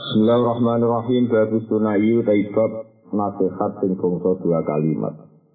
Bismillahirrahmanirrahim. Babu sunayu taibab nasihat sing bangsa dua kalimat.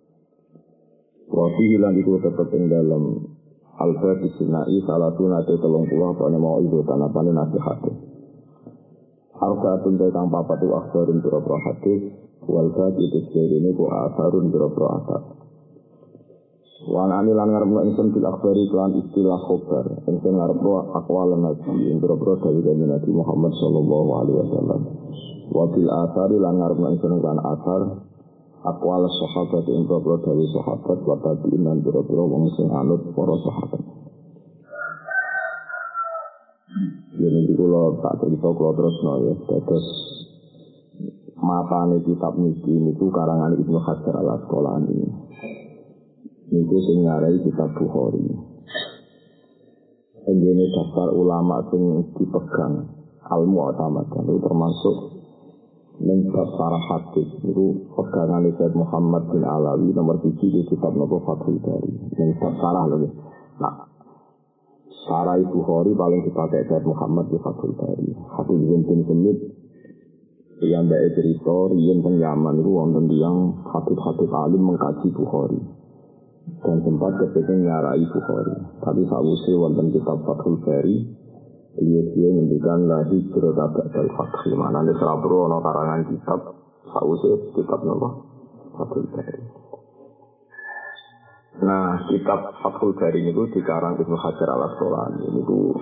Wafi hilang iku tetep ing dalam al-babu sunayu salah sunate 30 apa mau ibu tanapane nasihat. Arba'atun kang papat wa akhbarun biro hadis wal baqi ini ku asarun biro asar. Wan ani lan ngarepno ingsun bil akhbari kelan istilah khobar ingsun ngarepno aqwal nabi ing boro dawuh Nabi Muhammad sallallahu alaihi wasallam wa bil athari lan ngarepno ingsun kelan athar aqwal sahabat ing boro dawuh sahabat wa tabi'in lan boro wong sing anut para sahabat. Yen iki kula tak cerita kula terusno ya dados matane kitab niki niku karangan Ibnu Hajar Al-Asqalani. Itu sing ngarai kitab Bukhari. Ini daftar ulama sing dipegang al-mu'tamad itu termasuk bab sarah hadis itu pegangan Sayyid Muhammad bin Alawi nomor 7 di kitab Nabi Fathul Bari. Yang bab sarah lho. Nah, sarah Bukhari paling dipakai Sayyid Muhammad di Fathul Bari. Hadis bin Semit yang baik cerita riyen teng Yaman itu wonten tiyang hadis-hadis alim mengkaji Bukhari. Dan sempat kepingin ngarai Bukhari. Tapi sakwise wonten kitab Fathul Bari, dia ngendikan la hijrah ba'dal fath. Manane serabro ana karangan kitab sakwise kitab napa? Fathul Bari. Nah, kitab Fathul Bari niku dikarang Ibnu Hajar Al-Asqalani niku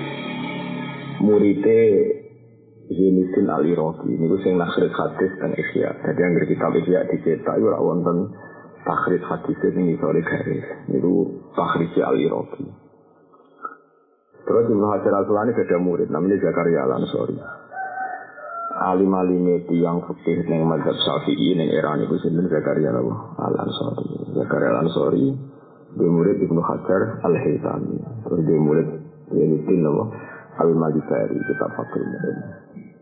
murite Zainuddin Al-Iraqi niku sing nakhrij hadis dan Ihya. Jadi yang kitab Ihya dicetak iku ora wonten takhrij hadis ini sore garis itu takhrij Al-Iraqi. Terus Ibnu Hajar Al-Asqalani ada murid namanya Zakaria Al-Ansori. Alim-alim yang fikih ning mazhab Syafi'i ning era niku sinten Zakaria Al-Ansori. Zakaria Al-Ansori dia murid Ibnu Hajar Al-Haythami. Terus dia murid Zainuddin Al-Malikari kitab Fathul Bari.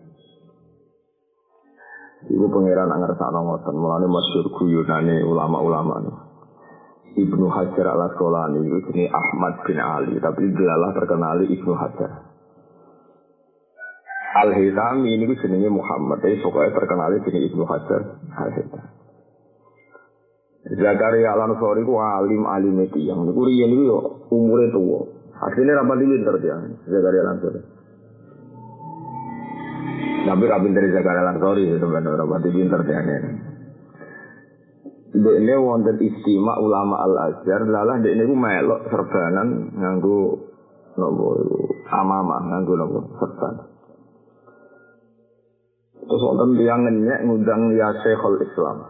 Ibu pangeran angersakno ngoten, mulane masyhur guyonane ulama-ulama. Ibnu Hajar Al-Asqalani itu jenenge Ahmad bin Ali, tapi delalah terkenali Ibnu Hajar. Al-Haythami ini jenenge Muhammad, tapi pokoknya terkenali jenenge Ibnu Hajar Al-Haythami. Zakaria Al-Ansori ku alim tiyang niku riyen niku yo umure tuwa. Asline ra pati pinter dia, Zakaria Al-Ansori. Tapi rabin dari Zakaria Al-Ansori itu benar rapati pinter dia ini. Ini wonten istimewa ulama Al-Azhar, lalah ini ku melok serbanan nganggo nopo amamah nganggo nopo serban. Terus wonten tiyang ngenyek ngundang ya Syekhul Islam.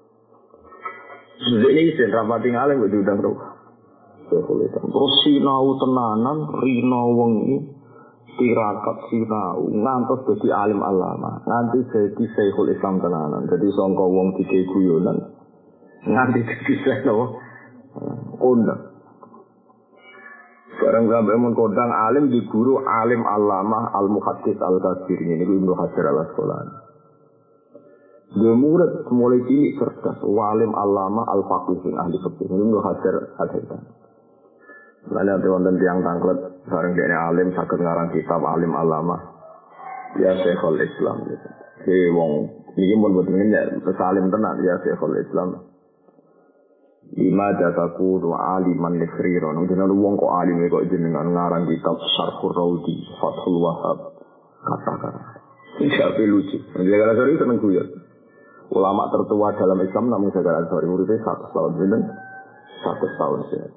Ini isin rapati ngalih kok diundang ro. Syekhul Islam. Terus sinau tenanan rino wengi tirakat sinau ngantos dadi alim alama nganti dadi Syekhul Islam tenanan dadi sangka wong dike guyonan nganti dadi seno kondang bareng sampe mun kondang alim di guru alim alama al-muhaddits al-kabir ini Ibnu Hajar Al-Asqalani dia murid mulai cilik cerdas alim alama al-faqih ahli fikih Ibnu Hajar Al-Haythami. Lalu ada wonten tiang tangklet bareng dene alim saged ngarang kitab alim alama ya Syekhul Islam gitu. Ki wong iki mun boten ya salim tenan ya Syekhul Islam. Lima jataku wa aliman likhriron. Jenenge wong kok alim kok jenengan ngarang kitab Syarhur Raudi Fathul Wahhab kata-kata. Iki lucu. Zakaria Al-Ansori seneng guyon. Ulama tertua dalam Islam namung Zakaria Al-Ansori muridé 100 tahun sinten? 100 tahun sih.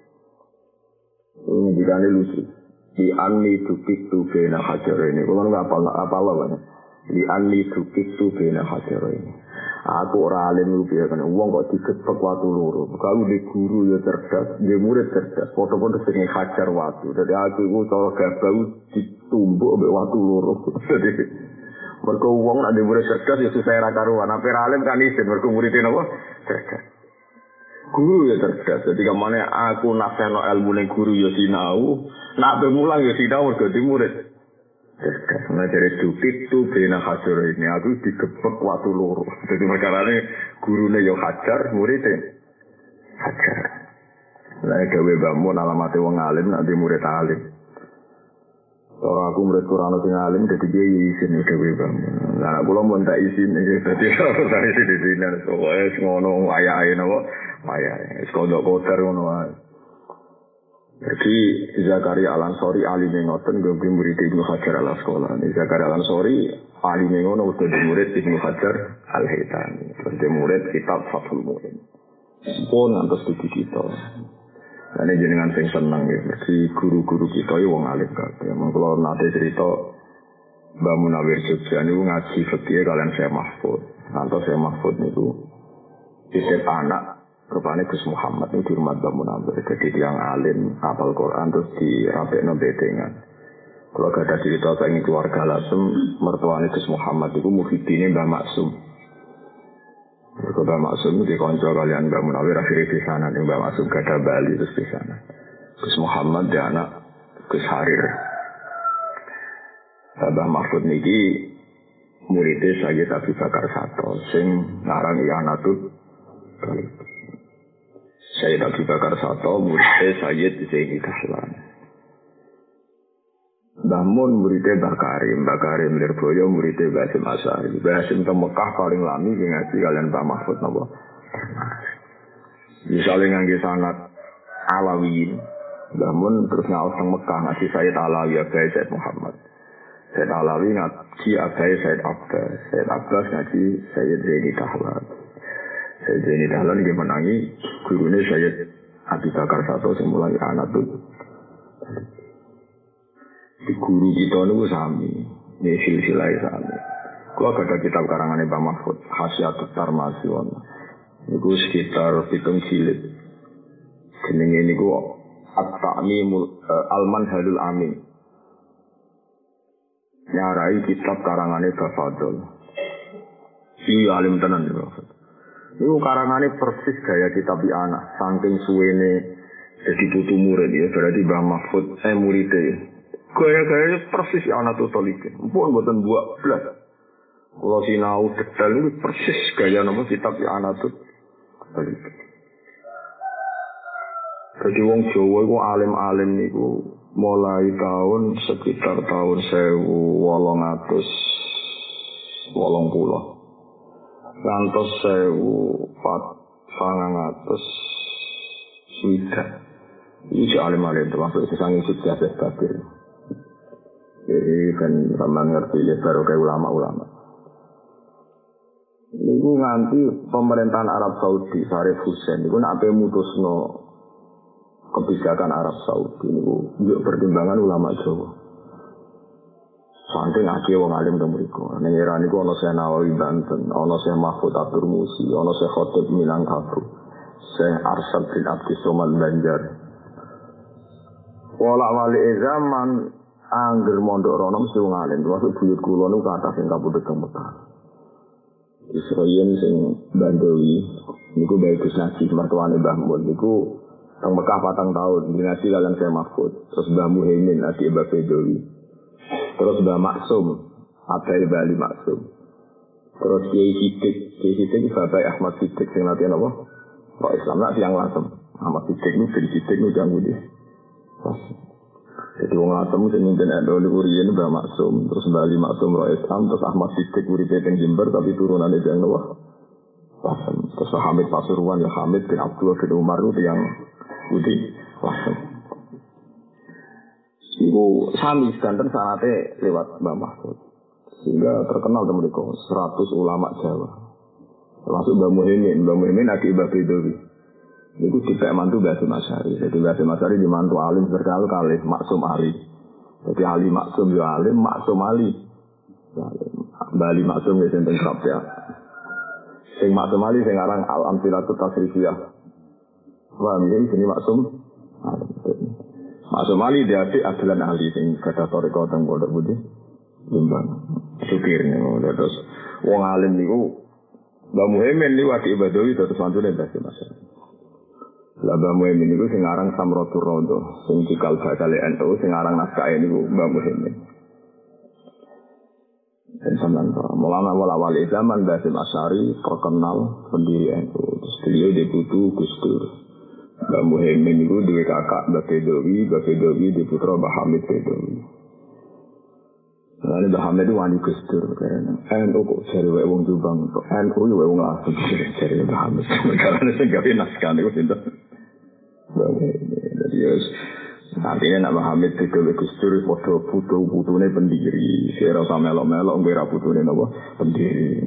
Ini dikane lucu. Di anni dukik tu bena hajar ini. Kalau nggak apa banyak. Di anni dukik tu bena hajar ini. Aku orang alim lu biar kan. Uang kok digebek waktu luru. Kalau di guru ya cerdas, di murid cerdas. Foto-foto sering hajar waktu. Jadi aku itu cara gabau ditumbuk sampai waktu luru. Jadi mereka uang nak di murid cerdas ya susah rakaruan. Apa alim kan isin. Mereka muridin apa? Cerdas. Guru ya cerdas, jadi kemana aku nasihno ilmu ning guru ya sinau, nak bemulang ya sinau mergo di murid. Cerdas, nah dari dukik tu bena hajar ini, aku digebek waktu loro. Jadi perkarane gurune ya hajar, muridnya hajar. Lah gawe bangun alamate wong alim nanti murid alim. Cara aku murid Quran sing alim dadi kiai isin dhewe Bang. Lah kula mun tak isin iki dadi ora isin di sini wis ngono ayahe napa ayahe wis kodok kotor ngono wae. Jadi Zakaria Al-Ansori alime ngoten nggo murid Ibnu Hajar Al-Asqalani. Zakaria Al-Ansori alime ngono udah murid Ibnu Hajar Al-Haytami. Terus murid kitab Fathul Mu'in. Pun ngantos di kita. Ini jenengan sing seneng ya, berarti guru-guru kita ya wong alim kabeh. Mengko nate cerita Mbah Munawir Jogja niku ngaji fikih kalian Syekh Mahfud. Ngantos Syekh Mahfud niku titip anak rupane Gus Muhammad niku di rumah Mbah Munawir. Jadi tiyang alim hafal Quran terus dirapekno bedengan. Kalau gak ada cerita saking keluarga Lasem, mertuane Gus Muhammad niku muhidine Mbah Maksum. Mbah Maksum di konco kalian Mbah Munawir akhirnya di sana nih Mbah Maksum gada Bali terus di sana. Gus Muhammad di anak Gus Harir. Mbah Mahfud niki muridnya Sayyid Abi Bakar Sato sing ngarang I'anatul Talib. Sayyid Abi Bakar Sato muridnya Sayyid Zaini Dahlan. Mbah Mun muridnya Mbah Karim Lirboyo muridnya Mbah Hasim Asy'ari. Mbah Hasim ke Mekah paling lami ngaji kalian Mbah Mahfud napa. Misalnya ngangge sanad Alawiyin, Mbah Mun terus ngaos teng Mekah ngaji Sayyid Alawi Abai Sayyid Muhammad. Sayyid Alawi ngaji Abai Sayyid Abbas, Sayyid Abbas ngaji Sayyid Zaini Dahlan. Sayyid Zaini Dahlan iki menangi gurune Sayyid Abi Bakar Sato sing mulai I'anatul di guru kita niku sami, ini silsilah sami. Kalau ada kitab karangan Mbah Mahfud, Hasyiatut Tarmasi wonten. Niku sekitar 7 jilid. Jenenge niku At-Ta'mimul Al-Manhalul Amin. Nyarai kitab karangane Mbah Fadl. Iki alim tenan niku. Niku karangane persis gaya kitab anak, saking suwene dadi putu murid ya, berarti Mbah Mahfud muridé. Gaya-gaya persis I'anatul Talib. Mpun mboten buak blas. Kula sinau detail itu persis gaya nama kitab I'anatul Talib. Jadi wong Jawa iku alim-alim niku mulai tahun sekitar tahun 1880. Ngantos 1400 iki alim-alim termasuk sesanging sukses kabeh. Jadi kan sama ngerti ya baru kayak ulama-ulama. Niku nganti pemerintahan Arab Saudi Syarif Hussein niku nak mutusno kebijakan Arab Saudi niku njuk pertimbangan ulama Jawa. Saking akeh wong alim teng mriku. Ning era niku ana Syekh Nawawi Banten, ana Syekh Mahfud Abdur Musi, ana Syekh Khatib Minangkabau, Syekh Arsad bin Abdus Somad Banjar. Wala wali zaman angger mondok rono mesti wong alim, termasuk buyut kula niku kathah sing kapundhut teng Mekah. Israyen sing Bandowi niku bagus nasi mertuane Mbah Mun niku teng Mekah 4 tahun dinasti kalian Syekh Mahfud, terus Mbah Muhaimin adik Mbah Bedowi. Terus Mbah Maksum, Abai Bali Maksum. Terus Kiai Sidik Bapak Ahmad Sidik sing latihan apa? Kok Islam nak tiang Lasem. Ahmad Sidik niku bin Sidik niku jang nggih. Jadi wong Lasem sing mimpin NU niku riyen Mbah Maksum, terus Mbah Ali Maksum Rois Islam, terus Ahmad Sidik uripe teng Jember tapi turunane jang napa? Lasem. Terus Hamid Pasuruan ya Hamid bin Abdullah bin Umar itu yang Budi Lasem. Iku sami sedanten sanate lewat Mbah Mahfud. Sehingga terkenal temen niku 100 ulama Jawa. Termasuk Mbah Muhaimin adik Mbah Bedowi. Niku dipek mantu Mbah Hasim Asy'ari. Jadi Mbah Hasim Asy'ari di mantu alim berkali-kali Maksum Ali. Jadi Ali Maksum ya alim, Maksum Ali. Mbah Ali Maksum ya sing kerap ya. Sing Maksum Ali sing aran Al-Amsilatut Tasrifiyah. Wah, ini sini Maksum. Maksum Ali dia adik Adlan Ali sing kata toriko teng Pondok Budi. Limbang. Supir niku terus wong alim niku Mbah Muhaimin niku adik Bedowi terus mantune Mbah Hasim Asy'ari. Lah Mbah Muhaimin niku sing aran Samratul Raudhah, sing cikal bakale NU sing aran naskah niku Mbah Muhaimin. Dan sampean mulana awal zaman Mbah Hasim Asy'ari terkenal pendiri NU. Terus beliau diputu Gus Dur. Mbah Muhaimin itu dua kakak Mbah Bedowi di putra Mbah Hamid Bedowi. Lalu Mbah Hamid itu wani Gus Dur. NU kok jare wae wong Jombang. NU ya wae wong langsung jare Mbah Hamid. Karena sing gawe naskah niku sinten. Jadi ya artinya nak Mbah Hamid itu Gus Dur foto putune pendiri. Saya rasa melok-melok ngira putune napa pendiri.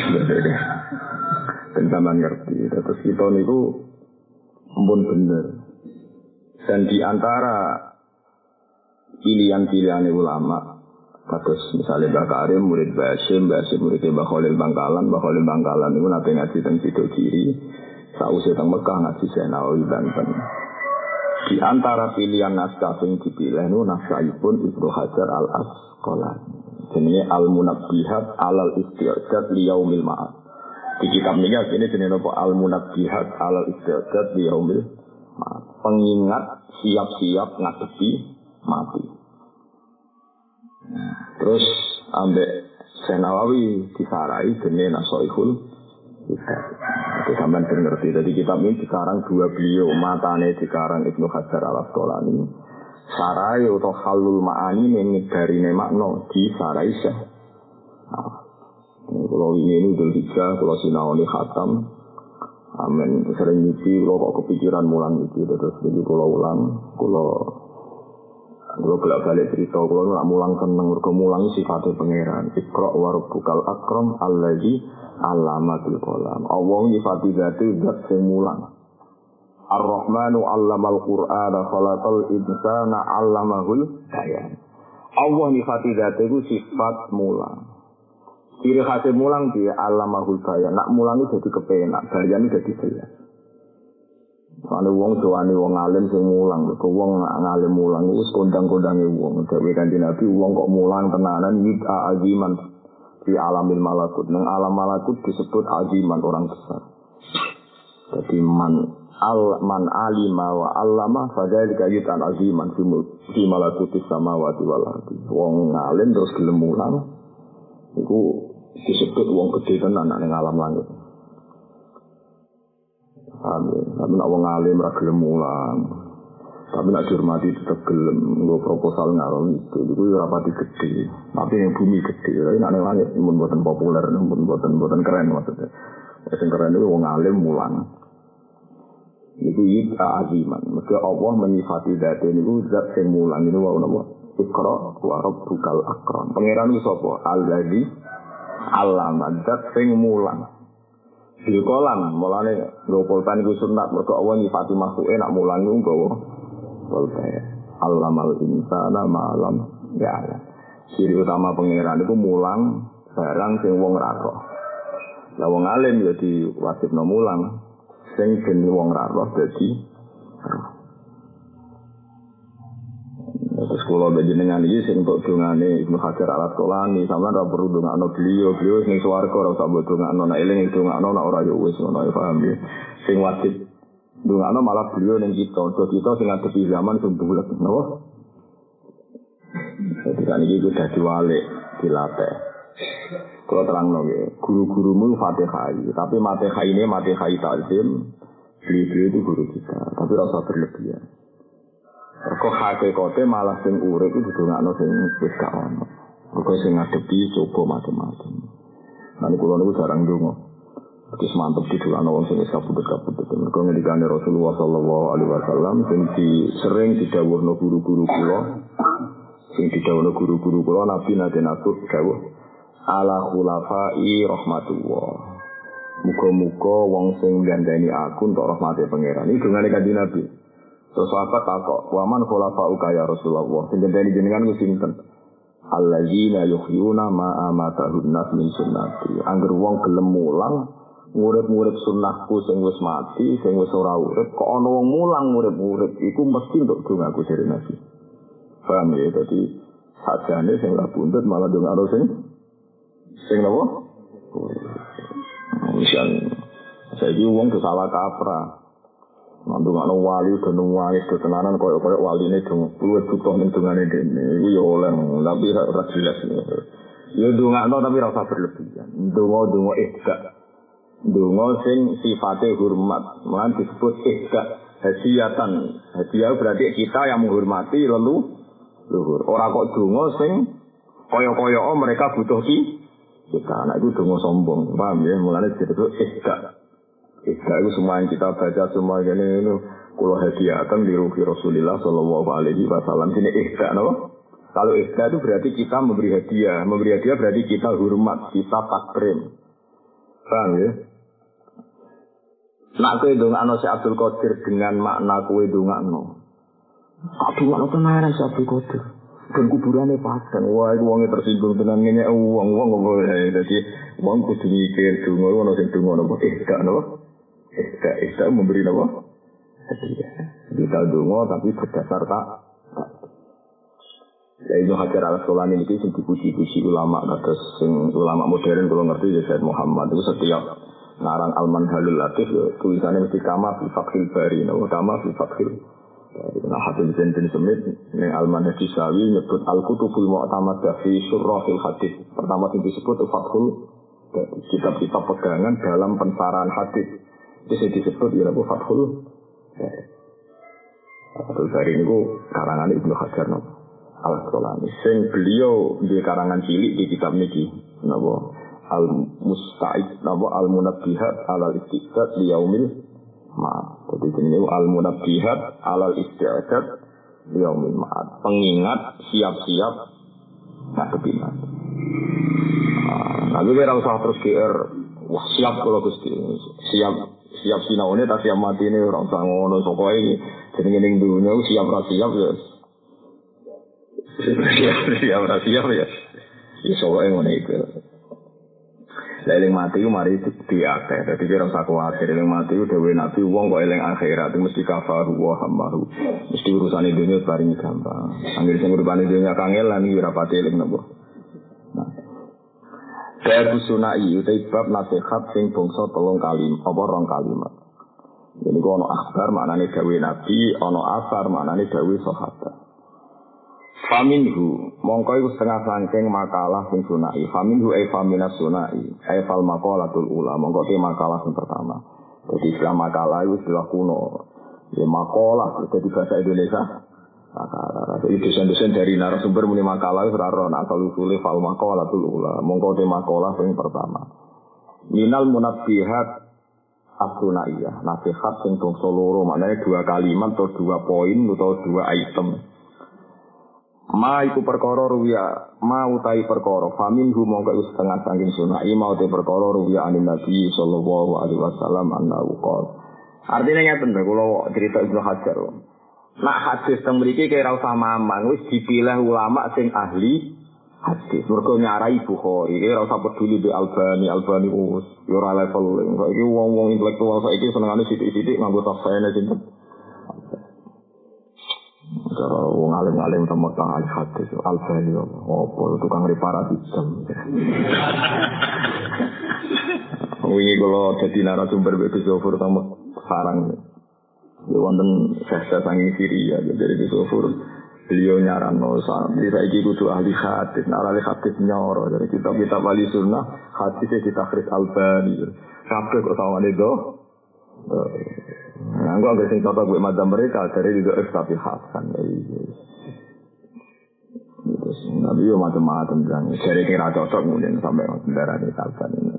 Dan sampean ngerti. Terus kita niku ampun bener. Dan di antara pilihan-pilihan ulama, kados misalnya Mbah Karim murid Mbah Hasyim murid Mbah Khalil Bangkalan itu nanti ngaji teng Sido Kiri, sausé teng Mekah ngaji Senawi Banten. Di antara pilihan naskah yang dipilih itu naskahipun Ibnu Hajar Al-Asqalani. Jenenge Al-Munabbihat Alal Isti'dad li Yaumil Ma'ad. Di kitab ini jenenge apa? Al-Munabbihat Alal Isti'dad li Yaumil Ma'ad. Pengingat siap-siap ngadepi mati. Terus ambek Senawi disarai jenenge Nasaihul Hidayah. Itu sampean ngerti. Jadi kitab ini sekarang dua beliau, matane sekarang Ibnu Hajar Al-Asqalani. Sarai atau halul ma'ani ini dari makna di sarai Syekh. Kalau ini Dhul Hijjah, kalau sinaoni khatam. Amin. Sering nyuci, kalau kok kepikiran mulang nyuci. Terus jadi kalau ulang, kalau balik cerita, kalau nak mulang seneng, mulang sifatnya pangeran. Iqra wa rabbukal akram alladzi allamatul qalam. Allah nyifati zati zat sing mulang. Ar-Rahmanu 'allamal Qur'ana khalaqal insana 'allamahul bayan. Allah nyifati zati itu sifat mulang. Ciri khas mulang dia 'allamahul bayan. Nak mulang itu jadi kepenak, bayan itu jadi jelas. Soale wong tuane wong alim sing mulang, kok wong ngalim mulang wis kondang-kondange wong. Dewe Kanjeng Nabi wong kok mulang tenanan yid aziman di alamil malakut. Nang alam malakut disebut aziman orang besar. Jadi man alima wa allama fadzalika yutan aziman fi malakutis samawati wal ardi. Wong ngalim terus gelem mulang iku disebut wong gedhe tenan nang alam langit. Amin. Tapi nak wong alim ra gelem mulang. Tapi nak dihormati tetep gelem nggo proposal ngarom itu ora pati gedhe. Tapi yang bumi gedhe, nek nang langit mun boten populer, mun boten keren maksudnya. Sing keren itu wong alim mulang. Iku yita aziman. Maka Allah menyifati zat niku zat sing mulang niku wae napa? Iqra wa rabbukal akram. Pangeran ku sapa? Alladzi allama zat sing mulang. Bilkolam, mulane nggo pulpen iku sunat, mergo Allah nyifati makhluke nak mulang iku nggawa pulpen. Allamal insana ma'lam ya'lam. Ciri utama pangeran iku mulang barang sing wong ra roh. Lah wong alim ya diwajibno mulang sing ben wong ra roh dadi terus kula panjenengan iki sing untuk dongane Ibnu Hajar Al-Asqalani sampeyan ora perlu dongakno beliau sing swarga ora usah mbok dongakno nek eling dongakno nek ora ya wis ngono ya paham ya sing wajib dongakno malah beliau ning kita sing ngadepi zaman sing bulet napa jadi kan iki kudu diwalik dilatih kula terangno nggih guru-gurumu Fatihah tapi Fatihah ini Fatihah ta'zim beliau itu guru kita tapi rasa berlebihan. Kok hakikate malah sing urip itu didongakno sing wis gak ono. Kok sing ngadepi coba macam-macam. Lan kula niku jarang ndonga. Wis mantep didongakno wong sing wis kabudut-kabudut. Mergo ngendikane Rasulullah sallallahu alaihi wasallam sing sering didhawuhno guru-guru kula, Nabi nate nasuk dawuh ala khulafai rahmatullah. Muga-muga wong sing gandani aku entuk rahmate pangeran. Iki dongane Kanjeng Nabi. Terus sahabat takok, waman khulafa'uka ya Rasulullah. Sing gendeni jenengan ku sinten? Alladzina yuhyuna ma amatahun nas min sunnati. Angger wong gelem mulang ngurip-ngurip sunnahku sing wis mati, sing wis ora urip, kok ana wong mulang ngurip-ngurip iku mesti untuk dongaku dari Nabi. Paham ya? Dadi sajane sing ora buntut malah dongakno sing napa? Misal saiki wong salah kaprah. Mandungane wali denungai ketenanan koyo waline dong luwih butuh ning dungane dene iku ya oleh tapi ora jelas ya ndongakno tapi ora usah berlebihan ndonga ihda ndonga sing sifate hormat lan disebut ihda hadiah berarti kita yang menghormati luhur ora kok donga sing Koyo-koyo mereka butuh kita. Nah itu donga sombong, paham ya? Mulane disebut ihda. Ihda itu semua yang kita baca semua ini kula hadiahkan di ruhi Rasulullah sallallahu alaihi wasallam. Ini ihda, no? Kalau ihda itu berarti kita memberi hadiah. Memberi hadiah berarti kita hormat, kita takrim. Paham ya? Nak kowe ndongakno si Abdul Qadir dengan makna kowe ndongakno. Aduh, ana tenaran si Abdul Qadir. Dan kuburannya padang, wah itu uangnya tersinggung dengan ngenyek uang jadi uang kudu mikir dungo, ono sing dungo nopo, ihda memberi nopo, kita dungo tapi berdasar tak. Ya Ibnu Hajar al-Asqalani ini sing dipuji-puji ulama, kados sing ulama modern kalau ngerti ya Said Muhammad itu setiap ngarang Al-Manhalul Latif tulisannya mesti kama fi Fathil Bari, kama fi Fathil. Nah, Hafiz bin Semit yang Al-Manhaj Sawi nyebut Al-Kutubul Mu'tamadah fi Syurrahil Hadis. Pertama yang disebut Fathul kitab-kitab pegangan dalam pensarahan hadis. Itu disebut ya Fathul Fathul Bari ini karangan Ibnu Hajar al-Asqalani. Sing beliau di karangan cilik di kitab niki napa Al-Musta'id napa Al-Munabbihat alal Istiqad li yaumil ma'ad. Jadi ini al-munabbihat alal isti'adad yaumil ma'ad. Pengingat siap-siap ngadepi mati. Nah, kira usah terus GR. Wah, siap kalau Gusti. Siap sinaune tak siap mati ini ora usah ngono pokoke jenenge ning dunya siap ra siap ya. Siap ra siap ya. Iso wae ngene iki. Eling mati ku mari diakeh. Dadi kira usah kuwatir eling mati ku dhewe nabi wong kok eling akhirat mesti kafaru wa hamaru. Mesti urusane dunya paling gampang. Anggere sing uripane dunya kangelan iki ora pati eling napa. Nah. Babu sunai utai bab nasihat sing bangsa 3 kalimat apa 2 kalimat. Ini ku ana akhbar maknane dawuh nabi, ana asar maknane dawuh sahabat. Faminhu mongko iku setengah saking makalah sing sunai. Faminhu ay faminas sunai. Ay fal maqalatul ula. Mongko te makalah sing pertama. Jadi istilah makalah itu istilah kuno. Ya makalah itu di bahasa Indonesia. Makalah. Itu dosen-dosen dari narasumber muni makalah itu ora ana asal usule fal maqalatul ula. Mongko te makalah sing pertama. Minal munabbihat as-sunaiyah. Nasihat sing bangsa loro maknane 2 kalimat atau 2 poin atau 2 item. Ma iku perkara ruwiya ma utai perkara faminhu mongko iku setengah saking sunai ma utai perkara ruwiya anin nabi sallallahu alaihi wasallam annahu qol. Artine ngeten lho kula cerita Ibnu Hajar. Nak hadis teng mriki kira usah mamang wis dipilih ulama sing ahli hadis. Mergo nyarai Bukhari kira usah peduli be Albani wis yo ora level. Saiki wong-wong intelektual saiki senengane sithik-sithik nganggo tafsirane sinten. Cara wong alim-alim sama kang ahli hadis Al-Bani opo tukang reparasi jam. Wingi kula dadi narasumber Gus Zofur sama sarang. Ya wonten sesa sangi Syria dari Gus Zofur. Beliau nyarano sampe saiki kudu ahli hadis, ahli hadis nyoro dari kitab-kitab ahli sunnah hadisnya ditakhris Al-Bani. Kabeh kok sawane do. Nah, gua agak sing contoh gue madzhab mereka dari juga tapi hasan. Terus nabi yo macam-macam kan. Dari kira cocok kemudian sampai darah di hasan ini.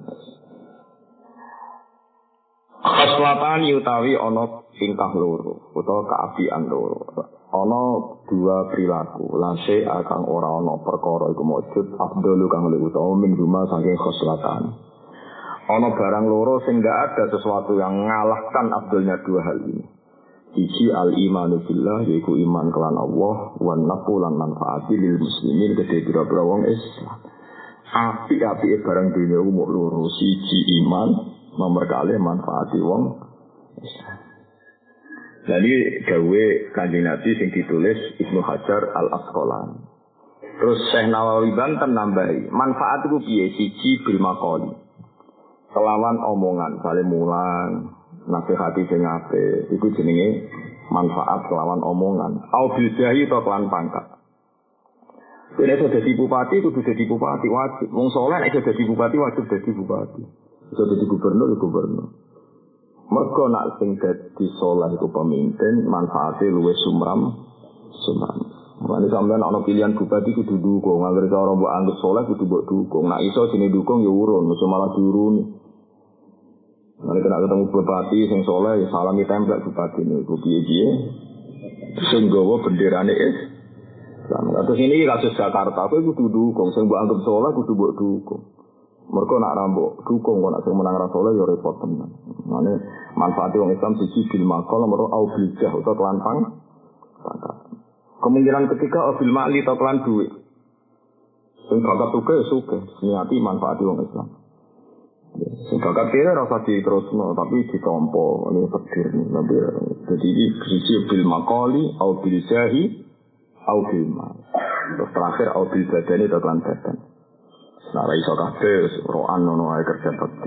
Khaslatan utawi ana tingkah loro utawa kaapian loro. Ana 2 perilaku. Lase akan ora ana perkara iku mujud afdalu kang luwih utawa min huma saking khaslatan. Ono barang loro sing gak ada sesuatu yang mengalahkan abdulnya 2 hal ini. Iji al-imanu billah yaitu iman kelan Allah wan nafu lan manfaati lil muslimin gede pira-pira wong Islam. Api-api barang dunia umur loro siji iman nomor kali manfaati wong Islam. Jadi gawe Kanjeng Nabi sing ditulis Ibnu Hajar al-Asqalani. Terus Syekh Nawawi Banten nambahi manfaat iku piye siji bil maqali. Kelawan omongan, saling mulang, nasihati sing apik, iku jenenge manfaat kelawan omongan. Au bil jahi to kelawan pangkat. Nek iso dadi bupati kudu dadi bupati wajib. Wong saleh nek iso dadi bupati wajib dadi bupati. Iso dadi gubernur ya gubernur. Mergo nak sing dadi saleh iku pemimpin, manfaate luwih sumram. Mane sampean ana pilihan bupati kudu dukung, anggere cara mbok anggap saleh kudu mbok dukung. Nek iso sini dukung ya urun, mesti malah diuruni. Mane kena ketemu bupati sing saleh ya salami templek bupati niku piye-piye. Sing nggawa benderane Islam. Terus ini kasus Jakarta, kowe kudu dukung, sing mbok anggap saleh kudu mbok dukung. Mergo nak rambok dukung kok nak sing menang ra saleh ya repot tenan. Mane manfaate wong Islam siji bil maqal nomor au bil jah utawa kelan kemungkinan ketiga bil mali atau kelan duit. Sing bakat suke niati manfaati wong Islam. Sing bakat kira rasa diterusno tapi ditampa ini pedir nabi. Jadi iki siji bil maqali au bil jahi au bil mal. Terus terakhir au bil badani atau kelan badan. Nah, iso kabeh roan ngono ae kerja bakti.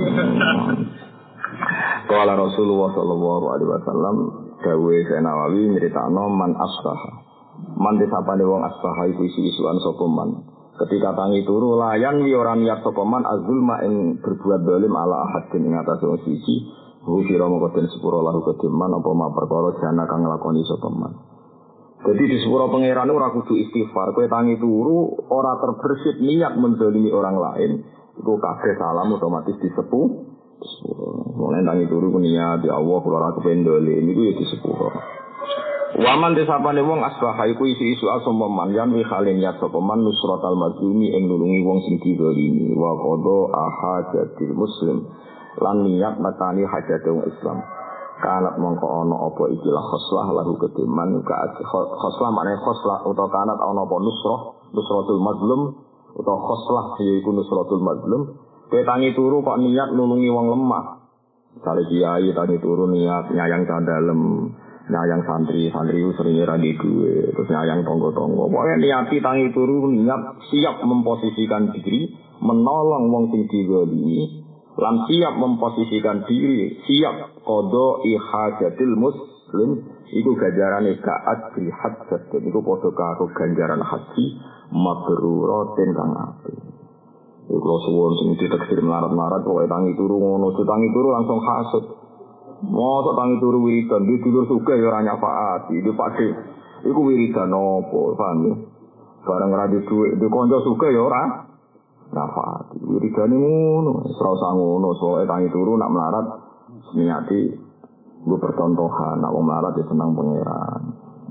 Qala Rasulullah sallallahu alaihi wasallam dawuhe Nawawi nyritakno man asbaha. Man disapane wong asbaha iku isu-isuan sapa man. Ketika tangi turu layan wi ora niat sapa man azulma ing berbuat zalim ala ahadin ing atase wong siji. Hu kira mongko den sepuro lahu kediman apa ma perkara jana kang nglakoni sapa man. Jadi di sepuro pangeran ora kudu istighfar, kowe tangi turu ora terbersit niat menzalimi orang lain, iku kabeh salam otomatis disepuh. Mulai tangi turu ku niat ya Allah kula ora kependole niku ya disepuro. Waman desapane wong asbaha iku isu-isu asam man yan wi khalen niat sapa man nusratal mazlumi ing nulungi wong sing dizalimi wa qada ahajatil muslim lan niat matani hajat wong Islam. Kanat mongko ana apa ikilah khoslah lahu kediman khoslah maknane khoslah utawa kanat ana apa nusratul mazlum utawa khoslah yaiku nusratul mazlum kowe tangi turu kok niat nulungi wong lemah misale kiai tangi turu niat nyayang candalem nyayang santri sering ra di duwe terus nyayang tangga-tangga pokoke niati tangi turu niat siap memposisikan diri menolong wong sing dizalimi lan siap memposisikan diri, siap qada ihajatil muslim, iku ganjarane ka'at bil hajjat, iku padha karo ganjaran haji mabruratin kang apik. Iku suwun sing diteksir melarat-melarat pokoke tangi turu ngono, tangi turu langsung hasud. Mosok tangi turu wiridan, di dulur sugih ya ora nyafaati, di pakde. Iku wiridan opo, paham ya? Bareng ra di dhuwit, di kanca sugih ya ora nafati, wiridane ngono, ora usah ngono, soalnya tangi turu nak melarat, niati gue percontohan, nak melarat ya senang pangeran.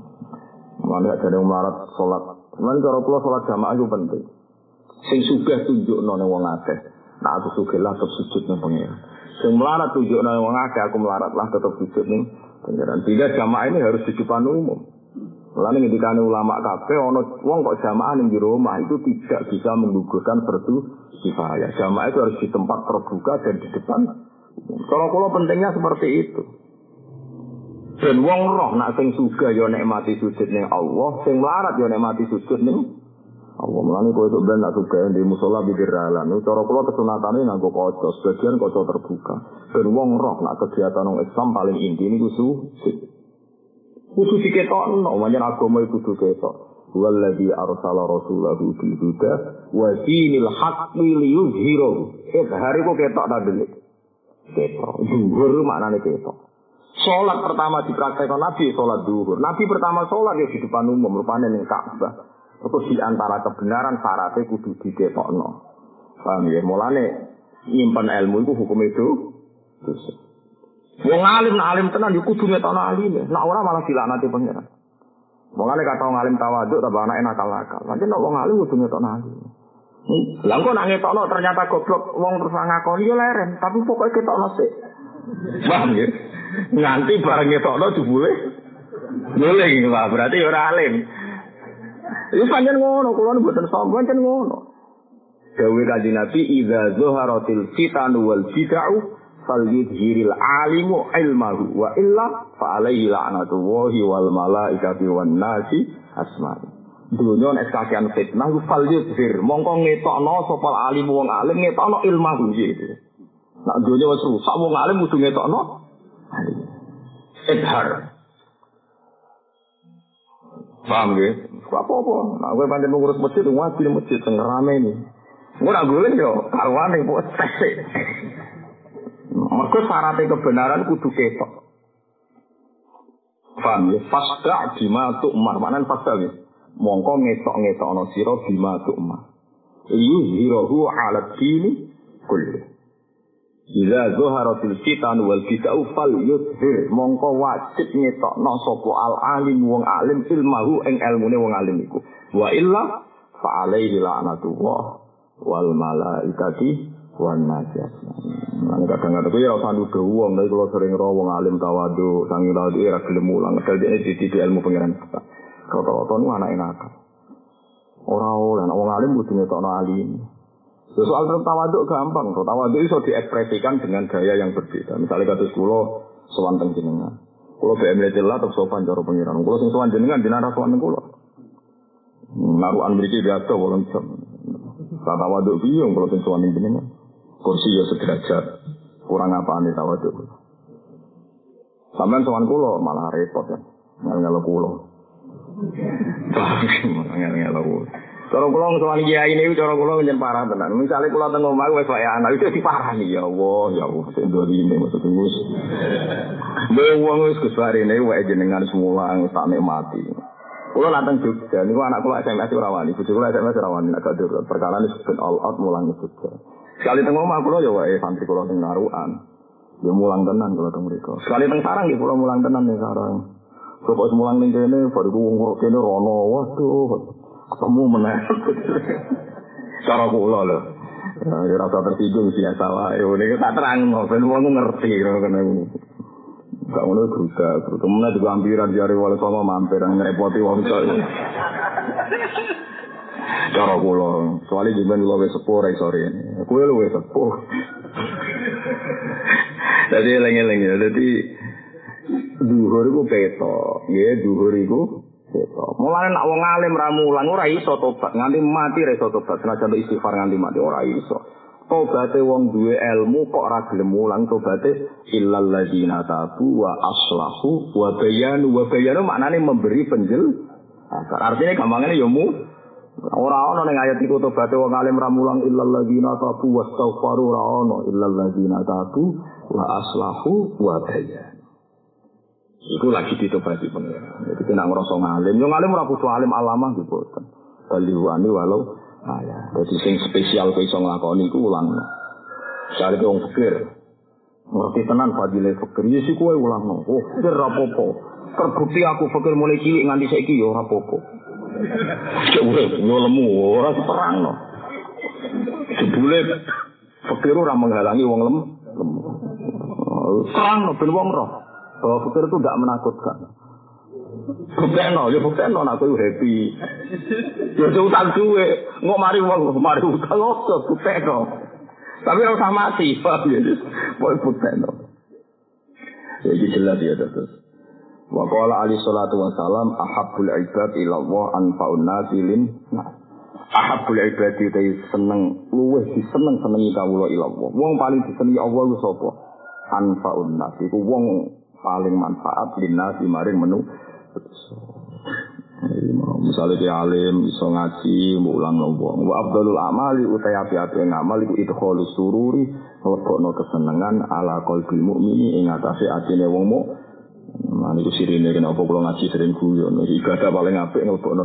Mana ada yang melarat sholat, mana cara pulau sholat jamaah itu penting. Sing sugih tunjuk none wong akeh, nak aku sugih lah tetap sujud ning pangeran. Sing melarat tunjuk none wong akeh, aku melarat lah tetap sujud ning pangeran. Tidak jamaah ini harus di depan umum. Mulane ngendikane ulama kabeh ana wong kok jamaah ning jero omah itu tidak bisa menggugurkan fardu kifayah. Jamaah itu harus di tempat terbuka dan di depan. Kalau pentingnya seperti itu. Dan wong roh nak sing sugih ya nikmati sujud ning Allah, sing melarat ya nikmati sujud ning Allah. Mulane kowe sok ben nak sugih di musala bibir dalan. Cara kula kesunatane nganggo kaca, sebagian kaca terbuka. Dan wong roh nak kegiatan wong Islam paling inti niku sujud. Kudu diketokno, manjen agama iku kudu ketok. Walladzi arsala rasulahu bil huda wa dinil haqqi liyuzhirahu. Hari kok ketok ta delik. Ketok. Zuhur maknane ketok. Salat pertama dipraktekkan Nabi salat zuhur. Nabi pertama salat ya di depan umum rupane ning Ka'bah. Terus di antara kebenaran syaratnya kudu diketokno. Paham ya? Mulane nyimpen ilmu iku hukum itu dosa. Wong alim tenan yo kudu ngetokno alime. Nek ora malah dilaknati pangeran. Wong kata wong alim tawaduk ta anake nakal-nakal. Pancen nek wong alim kudu ngetokno alime. Lah kok nek ngetokno ternyata goblok wong terus ngakoni yo leren, tapi pokoke ketokno sik. Paham ya? Nganti bareng ngetokno jebule nguling lah berarti ora alim. Iku pancen ngono, kula mboten sombong pancen ngono. Dawuh Kanjeng Nabi idza zuharatil fitan wal bid'ah fal yudhiril alimu ilmahu wa illa fa alaihi la'natullahi wal malaikati wan nasi asma'i. Dunya nek kakean fitnah fal yudhir mongko ngetokno sapa alim wong alim ngetokno ilmahu gitu. Nek dunya wis rusak wong alim kudu ngetokno idhar. Paham nggih? Apa-apa. Nek kowe pancen ngurus masjid wajib masjid sing rame iki. Ora golek yo karuane kok tesik. Mereka syaratnya kebenaran kudu ketok. Paham ya? Fasda' bima tu'mar. Maknanya fasda ya? mongko ngetok-ngetokno sira bima tu'ma yuzhirahu 'ala dini kulli idza zaharatil fitan wal bid'u fal yuzhir mongko wajib ngetokno sapa al alim wong alim ilmahu ing ilmune wong alim iku wa illa fa alaihi la'natullah wal malaikati wan najas. Lan kadang-kadang ya ora nuduh wong nek kula sering ro wong alim tawadhu sangi tawadhu ora gelem mulang padahal dhek dididik ilmu pangeran. Rata-rata nu anake nakal. Ora oleh nek wong alim kudu ngetokno alim. Soal tawadhu gampang, tawadhu iso diekspresikan dengan gaya yang berbeda. Misalnya kados kula sowan teng jenengan. Kula BM Letela terus sopan karo pangeran. Kula sing sowan jenengan jenengan sowan teng kula. Naruhan mriki biasa 8 jam. Tawadhu piye kula sing sowan jenengan. Kursi ya sederajat. Kurang apane tawadhu. Sampeyan sowan kula malah repot ya. Ngel-ngel kula. Ngel-ngel kula. Cara kula sowan kiai niku cara kula njen parah tenan. Misale kula teng omah wis wae anak itu diparani ya Allah, sing dorine maksud wis. Wong wis kesarene wae jenengan semula tak nikmati. Kula nantang Jogja niku anak kula SMS ora wani, bojo kula SMS ora wani nek gak perkara wis ben all out mulang Jogja. Sekali teng omah kula ya wae santri kula sing narukan. Ya mulang tenan kula teng mriku. Sekali teng sarang nggih kula mulang tenan ning sarang. Kok mulang ning kene bariku wong kene rono. Waduh. Ketemu meneh. Cara kula lho. Ya rasa tersinggung biasa wae. Niki tak terangno ben wong ngerti kene. Gak ngono gruda, meneh juga ampiran jare wale sama mampir ngrepoti wong tok. Cara kula, soalnya jenengan kula wis sepuh ra iso rene. Kowe lho wis sepuh. Dadi eling-eling ya, dadi dhuwur iku peto, nggih dhuwur iku peto. Mulane nek wong alim ra mulang ora iso tobat, nganti mati ra iso tobat, senajan istighfar nganti mati ora iso. Tobate wong duwe ilmu kok ora gelem mulang tobate illal ladzina tabu wa aslahu wa bayanu maknane memberi penjelasan. Artinya gampangane ya ora ana ning ayat iku tobate wong alim ra mulang illal ladzina tabu wastaghfaru ora ana illal ladzina tabu wa aslahu wa bayanu. Iku lagi ditobati pengen. Jadi kena ngrasa ngalim, yo ngalim ora kudu alim alamah gitu. Baliwani walau ya, jadi sing spesial kok iso nglakoni iku ulangno. Cari wong fikir. Ngerti tenan fadile fikir. Ya sik kowe ulangno. Oh, fikir ra apa-apa. Terbukti aku fikir mulai cilik nganti saiki ya ora apa-apa. Cek urip yo lemu ora terangno. Jebule fikir ora menghalangi wong lemu. Terangno ben wong roh. Bahwa fikir itu tidak menakutkan. Buktekno, ya buktekno aku happy. Ya utang duwe, ngok mari wong mari utang opo buktekno. Tapi ora usah mati, Pak. Pokoke buktekno. Ya iki jelas ya terus. Wa qala ali salatu wasalam ahabbul ibad ila Allah anfa'un nasilin. Ahabbul ibad itu seneng luwih disenengi kawula ila Allah. Wong paling disenengi Allah ku sapa? Anfa'un nas iku wong paling manfaat linnas maring menu. Misalnya dia alim, iso ngaji, mulang wong. Wa afdalul amali utai api-api ngamal iku idkhalus sururi, lebokno kesenengan ala qalbil mukmini ing atase atine wong mukmin. Nah niku sirine kenapa kula ngaji sering guyon. Ibadah paling apik lebokno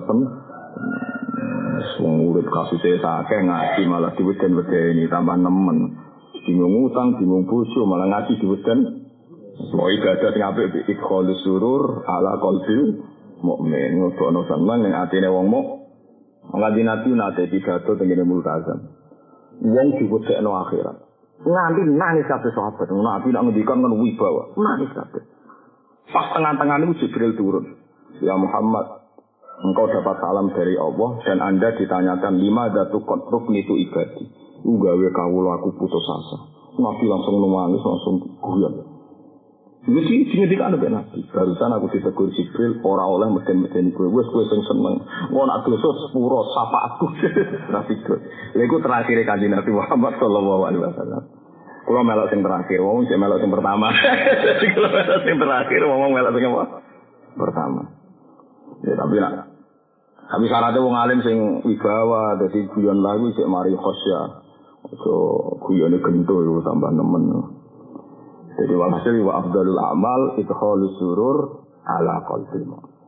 wong urip kasuse akeh ngaji malah diweden-wedeni tambah nemen. Bingung utang, bingung bojo malah ngaji diweden. Semua ibadah sing apik idkhalus surur ala qalbil mukmin ngono seneng ning atine wong mukmin. Nganti nabi nate pidato tengene multazam. Wong diwedekno akhirat. Nganti nangis kabeh sahabat. Nabi nak ngendikan kan wibawa. Nangis kabeh. Pas tengah-tengah niku Jibril turun. Ya Muhammad, engkau dapat salam dari Allah dan Anda ditanyakan lima datu kotruk nitu ibadi. Gawe kawula aku putus asa. Nabi langsung nangis langsung guyon. Jadi dingendikan ambek Nabi. Barusan aku ditegur Jibril ora oleh meden-meden kowe. Wis kowe sing seneng. Wong nak dosa sepuro sapa aku. Nabi itu. Lha iku terakhir Kanjeng Nabi Muhammad sallallahu alaihi wasallam. Kula melok sing terakhir, wong sing melok sing pertama. Kula melok sing terakhir, wong melok sing apa? Pertama. Ya tapi syaratnya wong alim sing wibawa, dadi guyon lagu sik mari khosya. Ojo guyone gento yo tambah nemen. Jadi walhasil wa afdalul amal idkhalus surur ala qalbil mu'min.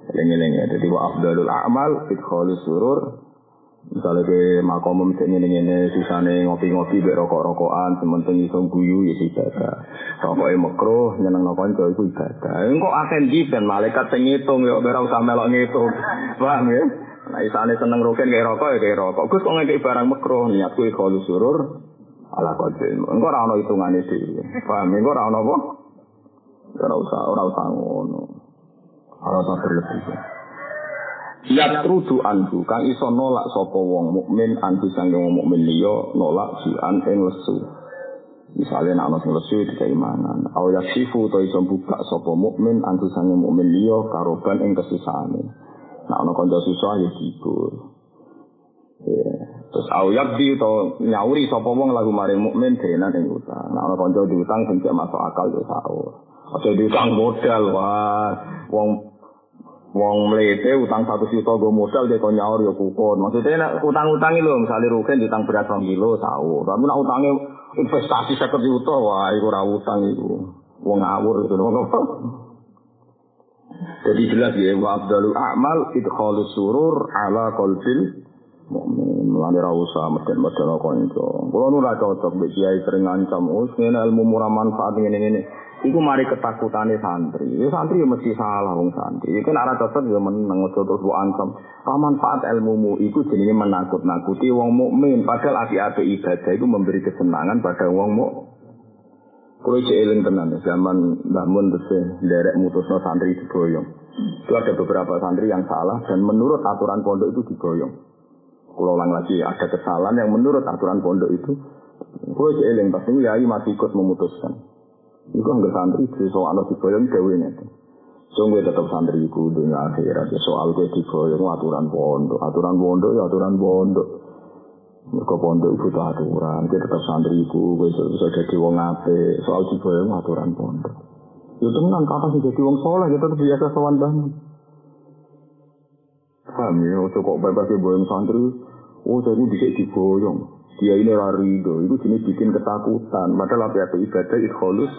Lengi-lengi dadi wa afdalul a'mal idkhalus surur. Misalnya ke makom ngene-ngene sisane ngopi-ngopi mek rokok-rokokan sementing iso guyu ya ibadah. Rokoke makruh nyenengno kanca iku ibadah. Engko akan di ben malaikat sing ngitung ya ora usah melok ngitung. Paham ya? Nah isane seneng roken kaya rokok ya kaya rokok. Gus kok ngekek barang makruh niatku ikhlas surur ala qadil. Engko ora ono hitungane dhewe. Paham? Engko ora ono apa? Ora usah ngono. Ora usah berlebih. Yatrudu anhu kang iso nolak sapa wong mukmin anti sange wong mukmin liya nolak sian ing lesu. Misale nek ana sing lesu dikai mangan, au yasifu to iso buka sapa mukmin anti sange mukmin liya karoban ing kesusahane. Nek ana kanca susah ya dibur. Ya, terus au yabdi to nyauri sapa wong lagu maring mukmin denan ing utang. Nek ana kanca diutang sing masuk akal ya saur. Aja diutang modal wah wong mlete utang 1 juta go modal dia kok nyaur ya kukun. Maksudnya nek utang-utangi lho, misale rugen ditang beras 2 kilo tahu. Tapi nek utange investasi 50 juta wah iku ora utang iku. Wong ngawur itu ngono. Jadi jelas ya wa afdalul a'mal idkhalus surur ala qalbil mukmin. Mulane ra usah meden-meden kanca. Kulo nu ra cocok mbek kiai sering ngancam, "Wis ngene ilmu murah manfaat ngene-ngene." Iku mari ketakutane santri. Ya santri ya mesti salah wong santri. Iku nek ora cocok ya meneng aja terus mbok ancam. Manfaat ilmumu iku jenenge menakut-nakuti wong mukmin. Padahal api-api ibadah itu memberi kesenangan pada wong mukmin. Kulo cek eling tenan zaman Mbah Mun terus nderek mutusno santri diboyong. Itu ada beberapa santri yang salah dan menurut aturan pondok itu diboyong. Kulo ulang lagi ada kesalahan yang menurut aturan pondok itu. Kulo cek eling pasti yai masih ikut memutuskan. Iku anggere santri soal diboyong gawe ngene. Sungguh tetap santri iku dunia akhirat soal kowe diboyong aturan pondok ya aturan pondok. Mergo pondok iku aturan, kowe tetap santri iku kowe bisa dadi wong apik, soal diboyong aturan pondok. Ya tenan kapan sing dadi wong saleh ya tetep biasa sowan banget. Paham ya, kok bebas boyong santri, jadi dhisik diboyong. Dia ini rarido, itu jenis bikin ketakutan. Padahal apa ibadah ikhlus.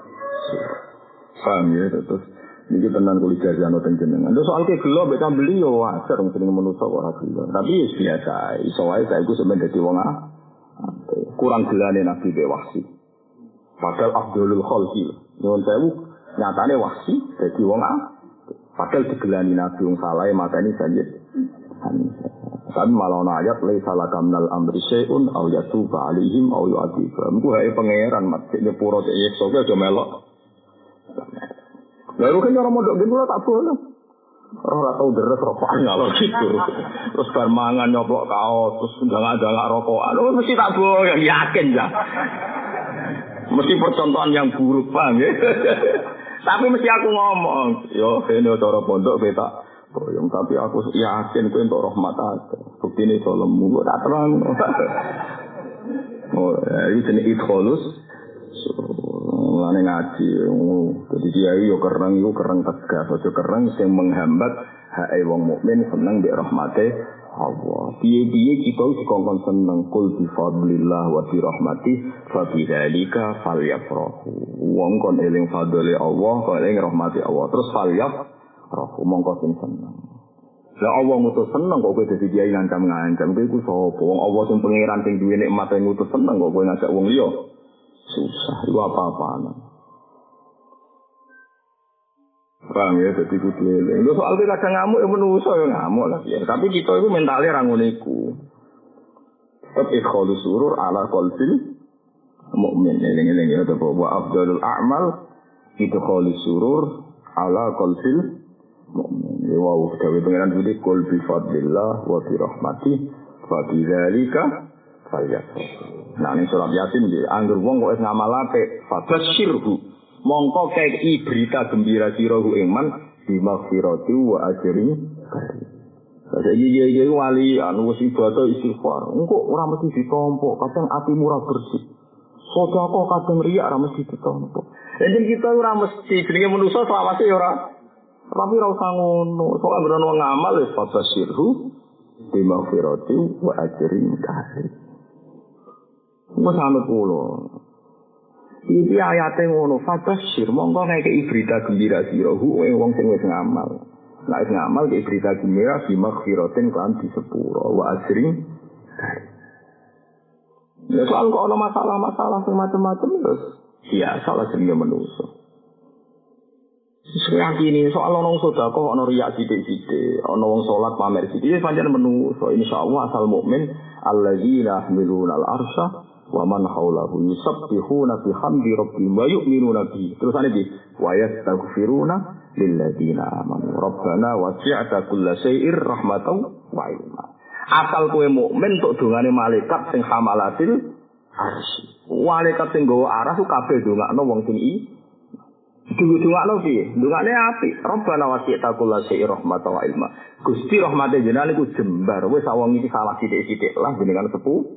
Paham ya, terus ini tenan kulit jazano tenjenengan. Terus soal ke gelo, mereka beli ya wajar, sering menusuk orang gelo. Tapi ya biasa, soalnya saya itu sebenarnya jadi wong kurang gelane nabi bewasi. Padahal Abdulul Khalqi, nyuwun sewu nyatane wasi jadi wong padahal digelani nabi wong salah makane Sayyid Hanifah. Tapi malah ana ayat laisa lakamnal amri syai'un aw yatuba alaihim aw yu'adzibum. Ku hae pangeran mat nyepuro cek yeso ke aja melok. Lalu kan orang modok gen kula tak boleh. Ora tau deres rokokan ngalor gitu. Terus bar mangan nyoplok kaos, terus ndang-ndang rokokan. Oh mesti tak boleh, yakin ya. Mesti percontohan yang buruk, paham ya. Tapi mesti aku ngomong, yo ini cara pondok beta boyong, tapi aku yakin kowe entuk rahmat aku. Buktine salemu kok tak terang. Oh, iki jenenge idkhalus. Lane ngaji. Dadi kiai yo kereng iku kereng tegas, aja kereng sing menghambat hake wong mukmin seneng mbek rahmate Allah. Piye-piye kita dikongkon seneng kul bi fadlillah wa bi rahmati fa bi dzalika falyafrahu. Wong kon eling fadlile Allah, kon eling rahmati Allah. Terus falyafrahu mongko sing seneng. Lah Allah ngutus seneng kok kowe dadi kiai ngancam-ngancam. Kowe iku sapa? Wong Allah sing pangeran sing duwe nikmat sing ngutus seneng kok kowe ngajak wong liya. Susah, itu apa-apaan. Paham ya, jadi kudu eling. Lu soal kadang ngamuk ya menungso ya ngamuk lah ya. Tapi kita itu mentalnya rangun iku. Tetap ikhlus surur ala qalbil mukmin. Eling-eling ya to wa afdalul a'mal ikhlus surur ala qalbil mukmin. Ya wa gawe pengenan iki qul bi fadlillah wa bi rahmati fa bi dzalika falyafrahu. Nah ini surat Yasin dia anggur wong kok ngamal apik fabasyirhu mongko kei berita gembira sirahu iman bimaghfirati wa ajrin karim. Saiki iki wali anu wis ibadah istighfar engko ora mesti ditampa kadang atimu ora bersih. Sedekah kadang riya ora mesti ditampa. Jadi kita ora mesti jenenge manusa selawase ya ora. Tapi ora usah ngono. Soale bener wong ngamal wis fabasyirhu bimaghfirati wa ajrin karim. Wes anut kula. Iki ayate ngono, fabasyir mongko ngekeki berita gembira sira wong sing wis ngamal. Nah, ngamal ke berita gembira di maghfiratin kan di sepuro wa ajrin. Ya soal kok ada masalah-masalah macam-macam terus biasa lah jenenge manusa. Yakini soal ono sedekah ono riya sithik-sithik, ono wong salat pamer sithik, pancen manusa insyaallah asal mukmin alladzina yahmiluna al-arsya wa man haulahu yusabbihuna bihamdi rabbihim wa yu'minuna bihi. Terus ana iki wa yastaghfiruna lilladzina amanu rabbana wasi'ta kulla syai'ir rahmatan wa ilma. Asal kowe mukmin tok dongane malaikat sing hamalatil arsy. Malaikat sing nggawa aras ku kabeh dongakno wong sing dungakno piye? Dungane apik. Rabbana wasi'ta kulla syai'ir rahmatan wa ilma. Gusti rahmate jenengan iku jembar. Wis awang iki salah sithik-sithik lah jenengan sepuh.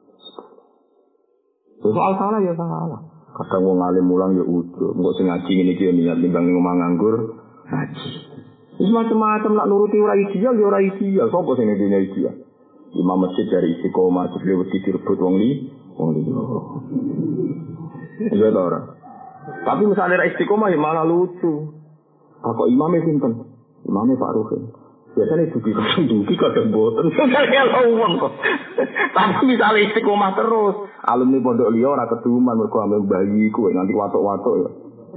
Soal salah ya salah. Kadang wong alim mulang ya udah. Engko sing ngaji ngene iki ya niat timbang ngomong nganggur ngaji. Wis macam-macam nak nuruti ora ideal ya ora ideal. Sopo sing ngene ideal? Imam masjid dari Istiqomah dhewe wedi direbut wong liya. Iya ta ora? Tapi misalnya ra Istiqomah ya malah lucu. Kok imame sinten? Imame Pak Ruhin. Biasanya dugi kadang boten. Kalau uang kok. Tapi misalnya Istiqomah terus. Alumni pondok liya ora keduman mergo ame bayi kuwi nganti watuk-watuk ya.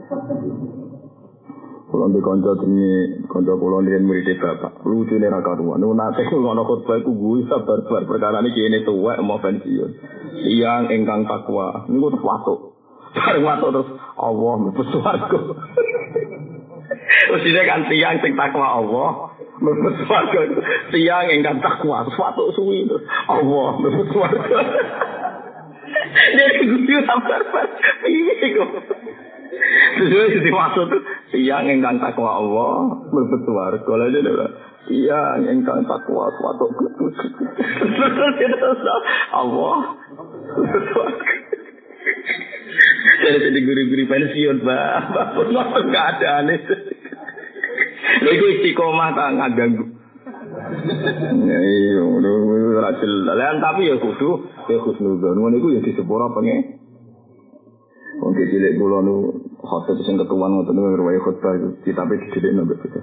Kalau di kanca kula nyen murid bapak, lucune ra karuan. Nate ngono khotbah iku guyu sabar-sabar perkara iki kene tuwek mau pensiun. Tiyang ingkang takwa niku terus watuk. Bareng watuk terus Allah mlebu swarga. Usine kan tiyang sing takwa Allah mlebu swarga. Tiyang ingkang takwa watuk suwi terus Allah mlebu swarga. Dia guyu sabar-sabar. Piye kok? Terus diwasut tiyang ingkang takwa Allah mlebu swarga. Lha dene tiyang ingkang takwa watuk Allah mlebu swarga. Jadi guru-guru pensiun, Pak. Bapak nggak ada aneh. Lha iku Istiqomah tak ngaganggu. Iya, udah racil. Lan tapi ya kudu husnuzon. Ngono iku ya disepuro pengen. Wong cilik kula nu khotbah sing ketuan ngoten niku riwayat khotbah kitabe didelik nang bocah.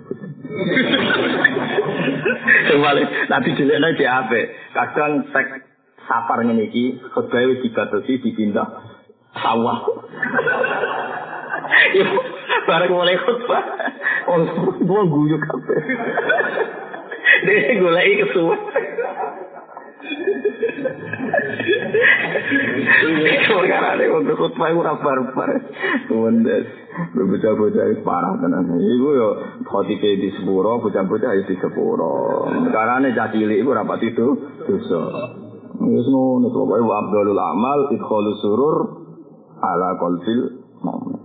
Sembale nanti dilekno di ape. Kadang tek sapar ngene iki khotbah wis dibatasi dipindah sawah. Yo bareng mulai khotbah. Wong guyu kabeh. Dene goleki kesuwen. Karena untuk khutbah itu rabar-rabar Wendes bocah-bocah parah tenan. Iku yo khotibe di sepuro, bocah-bocah di sepuro. Karena cah cilik iku rapat itu dosa. Wis ngono to wae Abdul Amal idkhalus surur ala qalbil mukmin.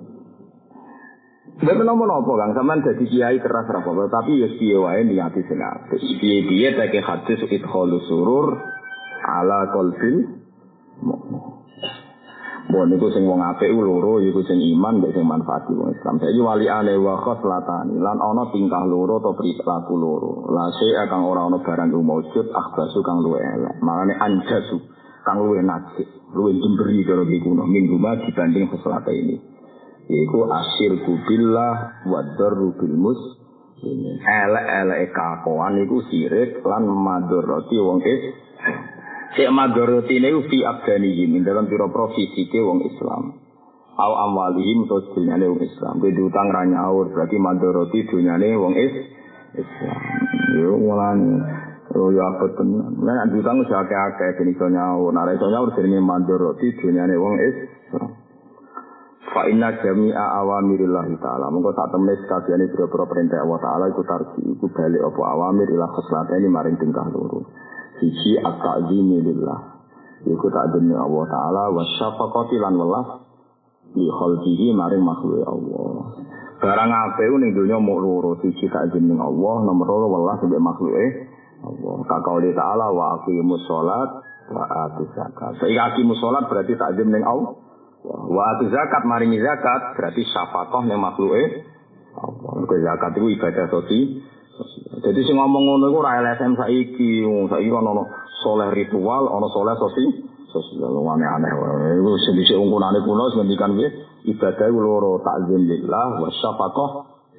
Betul nopo Kang, sampean dadi kiai keras ra apa, tapi ya piye wae niati sing apik. Piye-piye tak hadis idkhalus surur ala qalbil mukmin. Bon niku sing wong apik loro iku sing iman mek sing manfaati wong Islam. Saiki waliane wa khoslatani lan ana tingkah loro atau perilaku loro. La akan ora ana barang wujud akhbasu kang luwe elek. Makane anjasu kang luwe najis, luwe jemberi karo kuno minggu dibanding khoslata ini. Iku asyirku billah wa darru bil muslimin. Elek-eleke kakoan iku sirik lan madharati wong Sik madharotine fi abdanihim dalam pira-pira fisike wong Islam. Au amwalihim to dunyane wong Islam. Kuwi utang ra nyaur berarti madharoti dunyane wong Islam. Yo mulane yo apa tenan. Nek utang wis akeh-akeh ben iso nyaur. Nek iso nyaur jenenge madharoti dunyane wong Islam. Fa inna jami'a awamirillah ta'ala. Monggo sak temne sakabehane pira-pira perintah Allah taala iku tarji iku bali apa awamir ila khoslatene maring tingkah loro. Siji at-ta'zimi lillah. Iku ta'zimi Allah Ta'ala wa syafaqati lan welas li khalqihi maring makhluk Allah. Barang apik ning donya mung loro, siji ta'zimi Allah, nomor loro welas mbek makhluke Allah. Kaqauli Ta'ala wa aqimus shalat wa atuz zakat. Saiki aqimus shalat berarti ta'zim ning Allah. Wa atuz zakat maringi zakat berarti syafaqah ning makhluke Allah. Zakat itu ibadah sosial. Jadi sing ngomong ngono iku ora LSM saiki ana soleh ritual, ana soleh sosial aneh-aneh wae. Iku sing dhisik ungkunane kuno ngendikan piye? Ibadah iku loro, ta'zim lillah wa syafaqah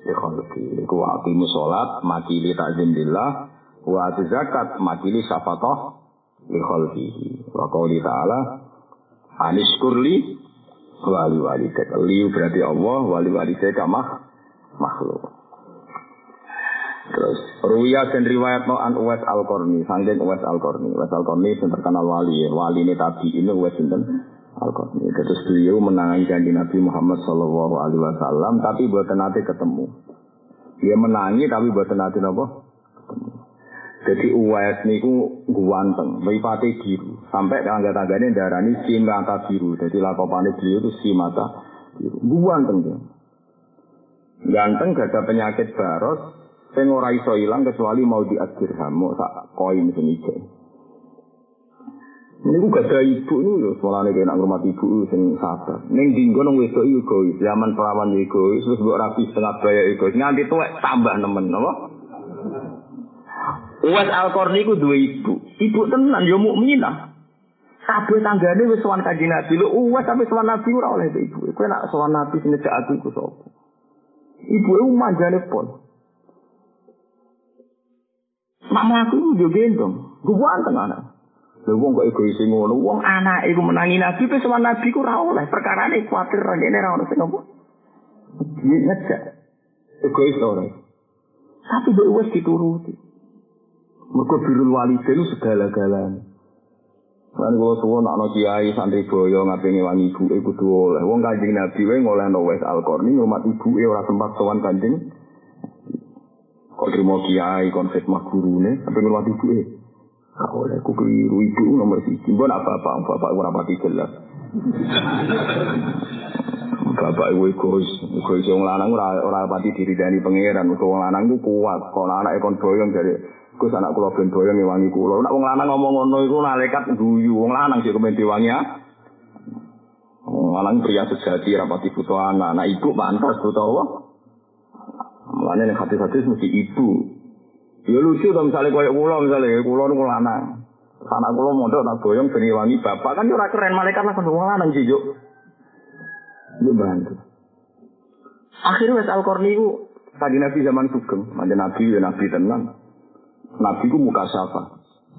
Ikholki. Iku aqimu sholat, makili ta'zim billah, wa atu zakat, makili syafaqah, ikholki. Wa qawli ta'ala, aniskurli, wali walidek. Liu berarti Allah, wali walidek makhluk. Terus, ruya dan riwayat an Uwais Al-Qarni, sangking Uwais Al-Qarni. Uwais Al-Qarni yang terkenal wali, wali ini tabi ini Uwais Al-Qarni. Terus beliau menangani janji Nabi Muhammad SAW, tapi buatan nanti ketemu. Dia menangi tapi buatan nanti apa? Ketemu. Jadi Uwais niku guanteng, mripate biru. Sampai tangga-tanggane darani si mata biru. Jadi lakopane beliau itu si mata biru. Guanteng dia. Ganteng gak ada penyakit baros, sing ora iso ilang kecuali mau diadirham, mau sak koin sing ijo. Ini gak ada ibu ini loh, soalnya kena ngurmat ibu sing sabar. Neng dinggo nong wedok egois, zaman perawan egois, terus buat rapi setengah bayar egois. Nganti tuwek tambah nemen, apa? Uwais Al-Qarni ku dua ibu. Ibu tenan, ya mukminah. Kabeh tanggane wis sowan Kanjeng Nabi. Lho Uwais sampe sowan Nabi ora oleh ibu. Kowe nak sowan Nabi sinejak aku iku sapa? Ibu e manjane pon. Mak mlaku yo gendong. Guwanteng anak. Lha wong kok egois ngono, wong anake iku menangi Nabi pe sowan Nabi ku ora oleh. Perkarane kuwatir rene ora ono sing apa. Ngejak. Egois ora. Tapi mbok wis dituruti. Mergo birrul walidain segala-galane. Lan kula suwun ana kiai santri boyo ngapingi wangi ibuke kudu oleh. Wong Kanjeng Nabi wae ngolehno Uwais Al-Qarni ngurmat ibuke ora sempat sowan Kanjeng. Kok trimo kiai kon khidmah gurune sampe ngurmat ibuke. Kak oleh ku keliru ibu nomor 1. Mbok nak bapak ora pati jelas. Bapak ibu egois wong lanang ora pati diridani pangeran. Wong lanang ku kuat, kok anake kon boyong dari Gus anak kula ben boyong ngewangi kula. Nek wong lanang ngomong ngono iku malaikat guyu. Wong lanang sik kemen diwangi ya. Wong lanang pria sejati rapati butuh anak. Anak ibu pantas butuh apa? Mulane nek hati-hati mesti ibu. Ya lucu to misale koyo kula niku lanang. Anak kula mondok tak boyong ben ngewangi bapak kan ora keren malaikat lah wong lanang sih yo. Yo bantu. Akhirnya Uwais Al-Qarni iku tadi Nabi zaman sugeng, manjen Nabi ya Nabi tenan. Nabi ku muka syafa.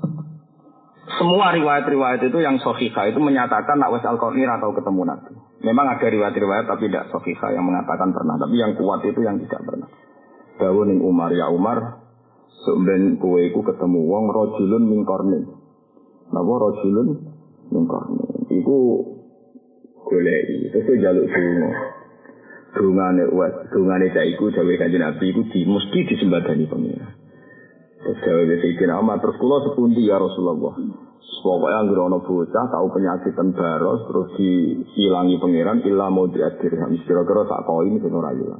Semua riwayat-riwayat itu yang sahihah itu menyatakan nak Uwais Al-Qarni ora tau ketemu Nabi. Memang ada riwayat-riwayat tapi tidak sahihah yang mengatakan pernah, tapi yang kuat itu yang tidak pernah. Dawuh ning Umar ya Umar, sampeyan kowe iku ketemu wong rajulun min qarnin. Napa rajulun min qarnin? Iku goleki, terus njaluk donga. Dungane Uwais, dungane cah iku dawuh Kanjeng Nabi iku mesti disembadani pengira. Terus jawab Sayyidina Umar, terus kula sepundi ya Rasulullah. Pokoknya anggere ana bocah tau penyakitan baros terus diilangi pangeran illa mudhi'at dirham. Kira-kira sak koin sing ora ilang.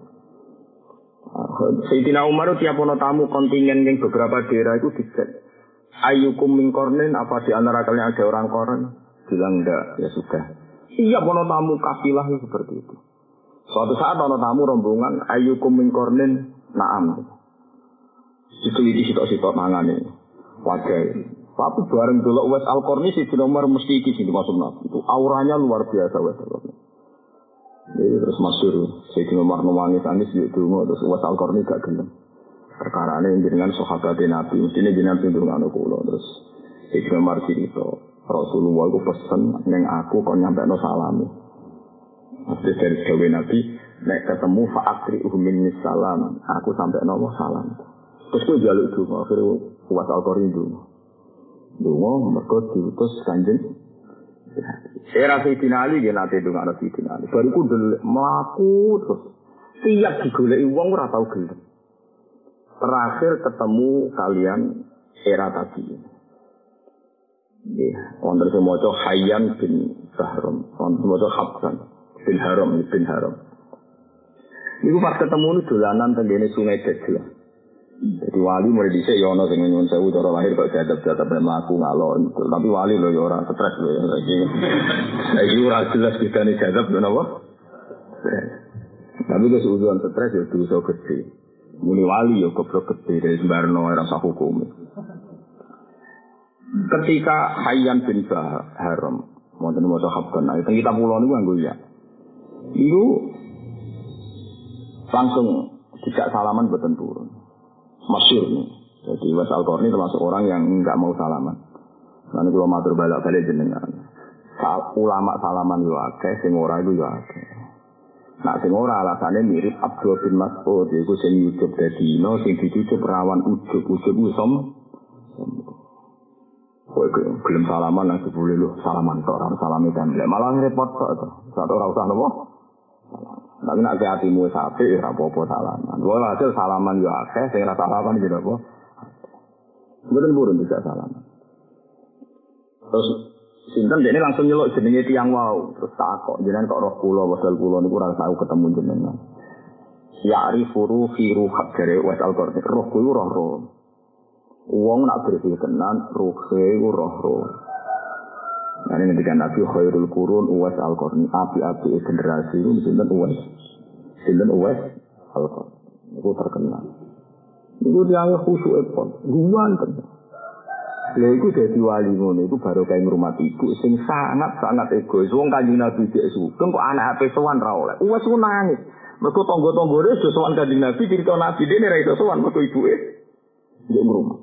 Sayyidina Umar tiap ana tamu kontingen ning beberapa daerah itu dicek. Ayyukum min qarnin, apa di antara kalian ada orang koran? Bilang enggak, ya sudah. Siap ana tamu kafilah seperti itu. Suatu saat ana tamu rombongan ayyukum min qarnin, na'am. Diteliti sitok-sitok mangane. Wajar. Tapi bareng delok Uwais Al-Qarni si nomor mesti iki sing dimaksud Nabi. Itu auranya luar biasa Uwais Al-Qarni. Jadi terus masyhur Sayyidina Umar nangis yo donga terus Uwais Al-Qarni gak gelem. Perkarane jenengan sahabat Nabi, mestine jenengan ndongakno kula terus Sayyidina Umar cerita Rasulullah iku pesen ning aku kon nyampekno salame. Mesti dari dawuh Nabi nek ketemu fa'akri min salam, aku sampai nopo salam. Terus aku jaluk donga, akhirnya Uwais Al-Qarni donga. Donga mergo diutus Kanjeng. Era Sayyidina Ali dia nate donga ana Sayyidina Ali. Baru ku mlaku terus tiap digoleki wong ora tau gelem. Terakhir ketemu kalian era tadi. Nggih, wonten sing maca Hayyan bin Bahram, wonten maca Habsan bin Haram. Niku pas ketemu nu dolanan tenggene Sungai Dajjal. Jadi wali mulai dhisik ya ana sing nyuwun sewu cara lahir kok jadab-jadab mlaku ngalon. Tapi wali lho ya ora stres lho ya saiki. Saiki ora jelas bedane jadab lho napa? Tapi wis ujuan stres ya dosa gede. Muni wali ya goblok gede dari sembarno ora sah hukum. Ketika Hayyan bin Haram wonten maca Habban, teng kitab kula niku nganggo ya. Iku langsung tidak salaman boten purun. Masyhur nih. Jadi Uwais Al-Qarni termasuk orang yang enggak mau salaman. Nanti kalau matur balik jenengan. Ulama salaman yo akeh, sing ora iku yo akeh. Nah sing ora alasane mirip Abdul bin Mas'ud iku sing ujug dadino sing dicucuk rawan ujug som. Kowe gelem salaman nang jebule lho salaman tok ora salami templek malah repot tok to. Sak ora usah napa. Tapi nek atimu wis apik ora apa-apa salaman. Wala hasil salaman yo akeh sing ora salaman yo apa. Mboten purun bisa salaman. Terus sinten dene langsung nyeluk jenenge tiyang wau, terus takok jenengan kok roh kula wasal kula niku ora tau ketemu jenengan. Ya'rifu fi ruhak jare Uwais Al-Qarni. Roh kuwi roh-roh. Wong nak bersih tenan ruhe iku roh-roh. Nah ini ketika Nabi khairul qurun Uwais Al-Qarni, api-api generasi itu sinten Uwais. Sinten Uwais Al-Qarni. Niku terkenal. Niku dianggap khusyuk pon. Guwanten. Lha iku dadi wali ngono iku baru kae ngurmati ibu sing sangat-sangat egois. Wong Kanjeng Nabi dhek sugeng kok anake sowan ra oleh. Wes ku nangis. Mergo tangga-tanggane wis sowan Kanjeng Nabi cerita Nabi dene ra iso sowan mergo ibuke ndek ngrumat.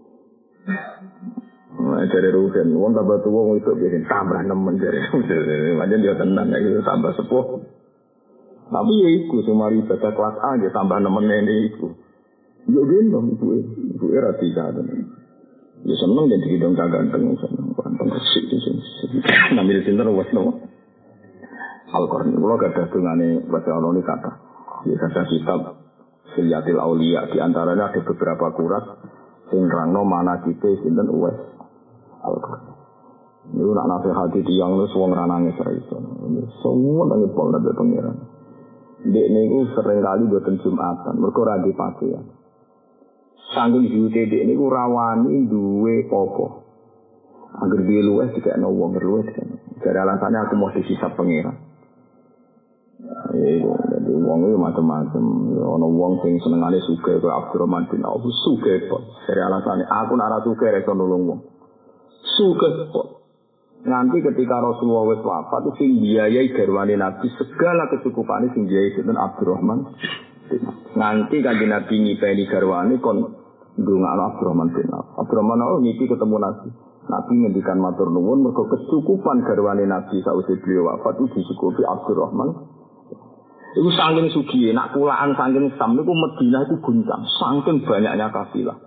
Nah, jare rugen wong tambah tuwa wong iso bikin tambah nemen jare. Pancen dia tenang iki tambah sepuh. Tapi ya iku sing mari ibadah kelas A ya tambah nemen ngene iku. Yo gendong ibuke ra dikandani. Ya seneng dan dihidung ganteng seneng ganteng resik itu nambil sinter was no Al-Qarni kalau gak ada dungane baca Allah ini kata ya kata kitab Silyatil Aulia diantaranya ada beberapa kurat sing rangno mana kita sinten Uwais Al-Qarni itu nak nasihati tiang lu suang ranangnya seraiso semua nangis pol nabi pengiran dek ini sering kali buatan Jumatan mereka radi pakaian Sanggung diute dek niku rawani duwe apa. Angger dia luwes dikekno wong luwes kan. Jare alasannya aku mau disisap pengira. Iku dadi wong iki macam-macam. Ana wong sing senengane sugih kaya Abdurrahman bin Auf sugih kok. Jare alasannya aku nek ora sugih iso nulung wong. Sugih kok. Nanti ketika Rasulullah wis wafat itu sing biayai garwane Nabi segala kesukupane sing biayai sinten Abdurrahman. Nanti Kanjeng Nabi ngipeni garwane kon ndongakno Abdurrahman bin Auf. Abdurrahman ngipi ketemu Nabi. Nabi ngendikan matur nuwun mergo kecukupan garwane Nabi sausé beliau wafat itu dicukupi Abdurrahman. Iku saking sugih, nak kulaan saking Sam niku Madinah itu guncang, saking banyaknya kafilah.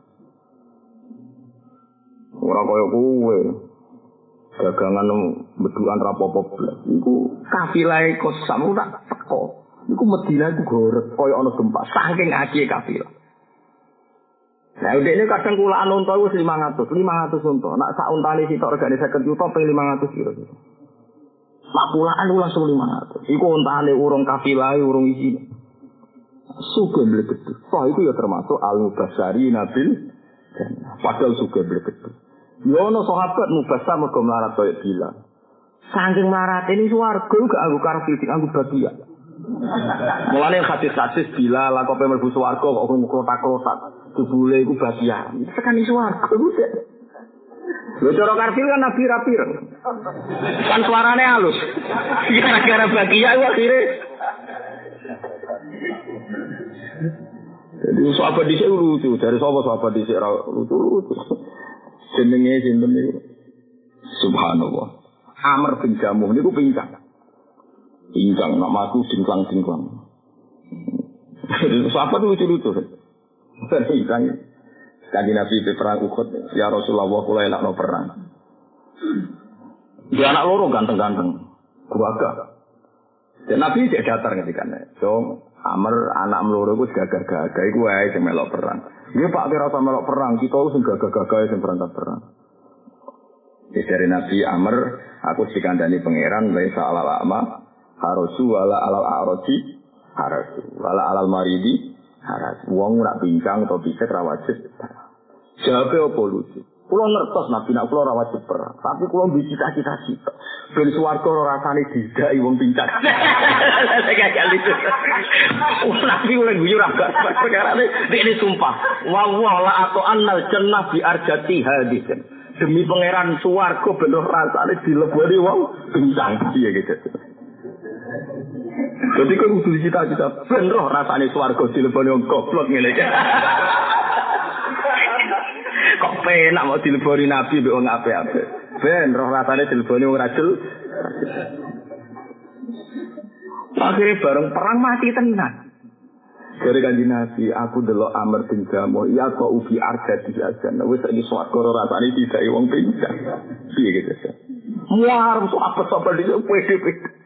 Ora kaya kowe. Dagangan bedukan rapopo blas. Iku kafilahe kok Sam tak teko. Iku Madinah iku gorek kaya ana gempa, saking akeh kafilah. Nah, ini kadang kulaan unta wis 500 unta. Nak sak untane sitok regane 50 juta ping 500 kira-kira. Nak kulaan langsung 500. Iku untane urung kafilah, urung isi. Sugih mlebet. Toh itu ya termasuk al-mubasyari nabil. Padahal sugih mlebet. Ya ana sahabat mubasyar mergo melarat koyo Bilal. Saking melarat ini swarga gak anggo karpet, anggo bagian. Mulane hadis-hadis Bilal kok mlebu swarga kok krotak-krotak. Jebule iku bagian. Tekan swarga iku. Lho cara karpet kan nabi rapir. Kan suarane halus. Gara-gara bagian iku akhire. Jadi sahabat dhisik lucu, dari sapa sahabat dhisik lucu. Jenenge sinten niku? Subhanallah. Amr bin Jamuh niku pincang. Pincang nak maku singklang-singklang. Sahabat lucu-lucu. Pincang. Kanjeng Nabi di perang Uhud, ya Rasulullah kula elakno perang. Dia anak loro ganteng-ganteng. Gagah. Dan Nabi cek datar ngendikane. So, Amr anak loro iku gagah-gagah iku wae sing melok perang. Dia Pak kira sama melok perang, kita harus gagah-gagah yang berangkat perang. Jadi dari Nabi Amr, aku dikandani pangeran, laisa alal a'ma, harosu, wala alal a'roji, harosu, wala alal maridi, harosu. Wong nak bincang atau bisa rawajib. Jawabnya apa lucu? Kulo ngertos Nabi nak kulo rawajib perang, tapi kulo bicita-cita cita. Ben swarga ora rasane didai wong pincang. Gak lucu. Nabi oleh guyu ra gak perkarane ini sumpah. Wa la atau annal jannah bi arjati hadis. Demi pangeran swarga ben rasane dileboni wong pincang. Iya gitu. Jadi kok kudu cita-cita ben roh rasane swarga dileboni wong goblok ngene iki. Kok penak mau dileboni nabi mbek wong apik-apik. Ben roh rasane dileboni wong rajul. Akhirnya bareng perang mati tenan. Dari kanjeng Nabi, aku delok Amr bin Jamuh, ya kok ubi arja di ajan. Wis iki swarga rasane didai wong pincang. Piye gitu. Muar apa-apa di PDP.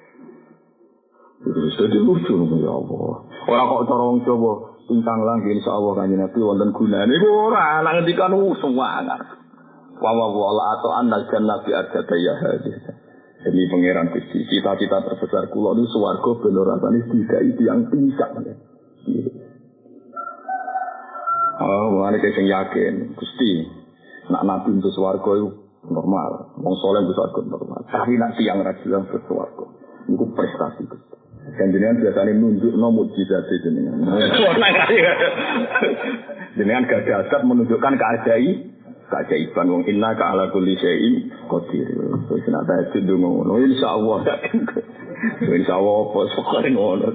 Terus jadi lucu ya Allah. Ora kok cara wong Jawa pincang lang insyaallah kanjeng Nabi wonten gunane. Iku ora nang ngendikan semangat. Wa wala atau annal jannah bi arja ya hadis. Demi pangeran Gusti, cita-cita terbesar kula niku swarga ben rasane didai tiyang pincang. Oh, mana sing yakin, Gusti, nak nabi untuk swarga itu normal, wong soleh untuk swarga normal. Tapi nak tiang rajin untuk swarga, itu prestasi Gusti. Dan jenengan biasanya nunjuk nomor mukjizat jenengan. Jenengan gak dasar menunjukkan keajaiban wong inna ka ala kulli syai'in qadir. Wis nak tahajud ngono, insyaallah. Insyaallah pokoke ngono.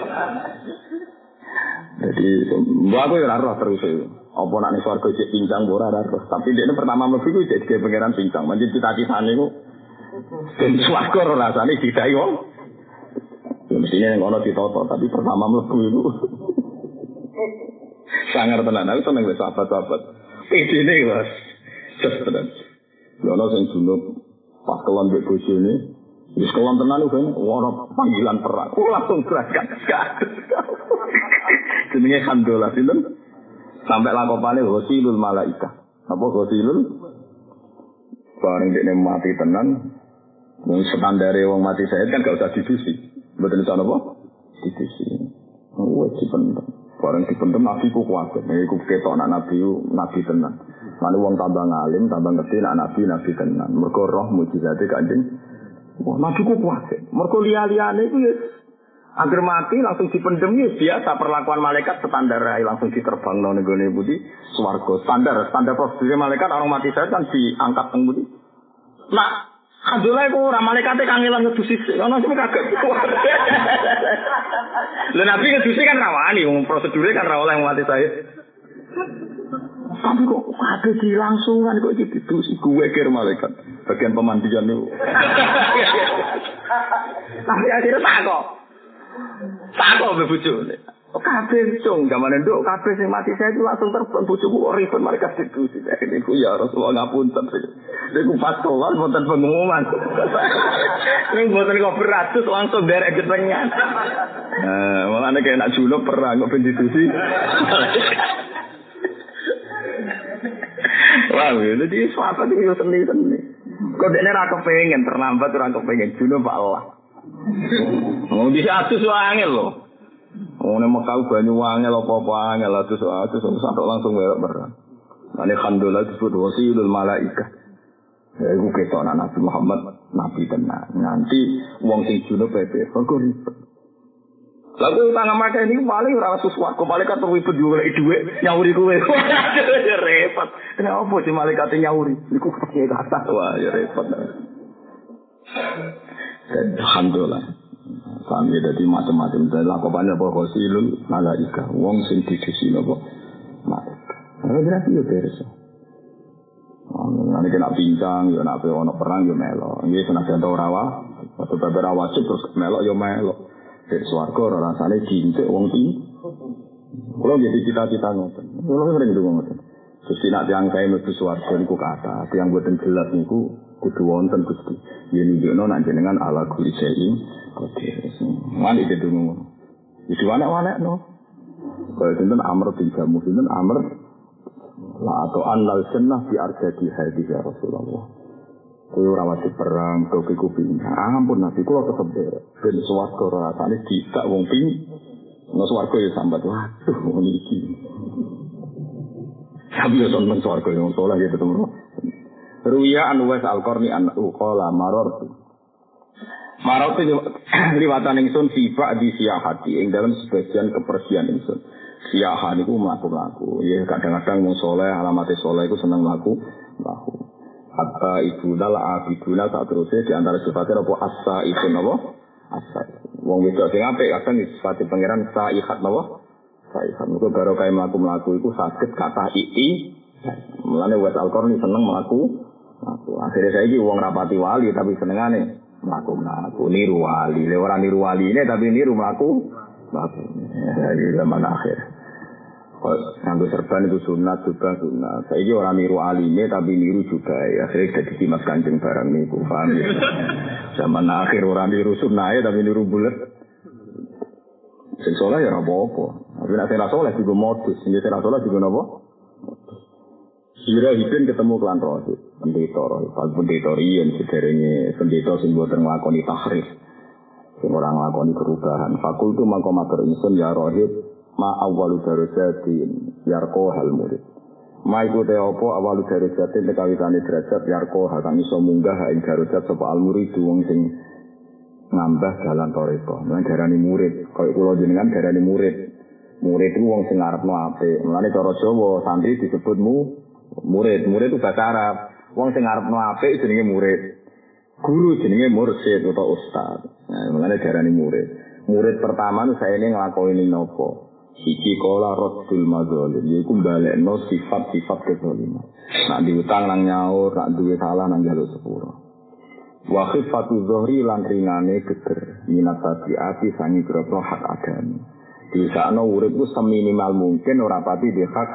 Jadi, aku ya roh terus. Apa nak ning swarga cek pincang ora roh. Tapi dekne pertama mlebu iku cek dhewe pangeran pincang. Manjen cita-citane iku ben swarga ora rasane didai wong. Ya mestine ning ono ditata, tapi pertama mlebu iku sangar tenan. Aku seneng wis sahabat-sahabat. Idene Mas. Tenan. Ya ono sing junub pas kelon mbek bojone. Wis kelon tenan kan ora panggilan perang. Langsung berangkat. Jenenge Hamdalah sinten? Sampai lakopane ghasilul malaika. Apa ghasilul? Bareng dekne mati tenan. Wong standare wong mati syahid kan gak usah didusi. Mboten iso napa? Didusi. Wajib pendem. Bareng dipendem nabi ku kuat. Iku ketok anak nabi tenan. Lalu wong tambah ngalim, tambah ngerti anak nabi tenan. Mergo roh mujizate Kanjeng. Wah, nabi ku kuat. Mergo liya-liyane iku ya agar mati langsung dipendem ya biasa perlakuan malaikat standar langsung diterbang nang nggone budi swarga standar prosedur malaikat orang mati saya kan diangkat nang budi. Nah, alhamdulillah iku ora malaikate kangelan ngedusi ono sing kaget. Lha nabi ngedusi kan rawani wong prosedure kan ra oleh mati saya. Tapi kok ada di langsungan kok iki didusi gue kira malaikat bagian pemandian niku. Tapi akhirnya tak kok bojone. Kabeh cung gamane nduk kabeh sing mati saya itu langsung terbang bojoku kok ribet mereka diskusi. Niku ya Rasulullah ngapunten. Niku pas keluar wonten pengumuman. Ning boten kok beratus langsung derek getengan. Malah nek enak junub perang kok ben diskusi. Wah, jadi suatu itu seni. Kok dekne ra kepengin terlambat ora kepengin junub Pak Allah. Mau diatus angel lho. Wong nek Mekah banyu angel apa-apa angel atus sampai langsung merah. Ane Alhamdulillah disebut wasilul malaika. Ya iku ketok Nabi Muhammad nabi tenan. Nanti wong sing junub pepe kok ribet. Lagu tangan makan ini paling ora sesuatu malaikat ribet juga dhuwit nyauri kowe. Ya repot. Kenapa sih malaikat nyauri? Niku kaya kata wah ya repot. Alhamdulillah. Kami dari macam-macam dan lakukannya apa ghasilul malaika. Wong sing didisi napa malaikat. Berarti yo beres. Nek kena pincang yo nek ono perang yo melo. Nggih senajan ora atau beberapa wajib terus melo yo melo. Dari swarga ora rasane cintek wong iki. Kulo nggih cita-cita ngoten. Kulo sering ndonga ngoten. Gusti nek tiyang kae mlebu swarga niku kata, tiyang boten jelas niku kudu wonten Gusti. Yen nunjukno nek jenengan ala kulli syai'in qadir. Mane iki dungu. Iki wanek-wanekno. Kaya sinten Amr bin Jamuh sinten Amr la atau annal jannah bi arjadi hadis ya Rasulullah. Kowe ora wajib perang, kowe kuping. Ampun Nabi kula tetep derek. Ben swarga rasane dicak wong ping. Nek swarga ya sambat waduh ngono iki. Sambil nonton swarga yang soleh gitu teman. Ruya Anwes Al-Qarni anhu qala marartu. Marartu liwatan ingsun sifat di siyahati ing dalam sebagian kepergian ingsun. Siyah niku mlaku-mlaku. Ya kadang-kadang wong soleh alamate soleh iku seneng mlaku. Hatta ibuna la abiduna tak terusé di antara sifatnya apa asa itu napa? Asa. Wong wedok sing apik kadang disifati pangeran saihat napa? Saihat. Mergo karo kae mlaku-mlaku iku saged kathah iki. Mulane wis Al-Qur'an seneng mlaku. Akhirnya saiki wong rapati wali tapi senengane mlaku-mlaku niru wali. Le ora niru waline tapi niru mlaku. Jadi zaman akhir. Nganggo serban itu sunat juga sunat. Saiki ora niru alime tapi niru juga ya. Akhirnya jadi Mas Kanjeng barang niku paham ya. Zaman akhir ora niru sunahe tapi niru bulet. Sing saleh ya ora apa-apa. Tapi nek ora saleh juga modus, sing ora saleh juga napa? Sira hipin ketemu kelan rohib, pendeta rohib, pendeta riyen sederenge pendeta sing boten nglakoni tahrif. Sing ora nglakoni perubahan. Fakultu mangko matur ingsun ya rohib ma awwalu darajatin yarqa hal murid. Ma iku te apa awwalu darajatin tekawitane derajat yarqa kang iso munggah ing darajat sapa al murid wong sing ngambah dalan toreko. Mulane darani murid, kaya kula jenengan darani murid. Murid itu wong sing ngarepno apik. Mulane cara Jawa santri disebut murid. Murid itu bahasa Arab. Wong sing ngarepno apik jenenge murid. Guru jenenge mursyid utawa ustaz. Nah, mulane darani murid. Murid pertama nu saene nglakoni napa? Siji kala raddul madzalim, yaiku balekno sifat-sifat kezaliman. Nak diutang nang nyaur, nak duwe salah nang njaluk sepuro. Wa khifatu dhuhri lan ringane geger, minat tabiati sangi grogro hak adami. Disakno urip ku seminimal mungkin ora pati di hak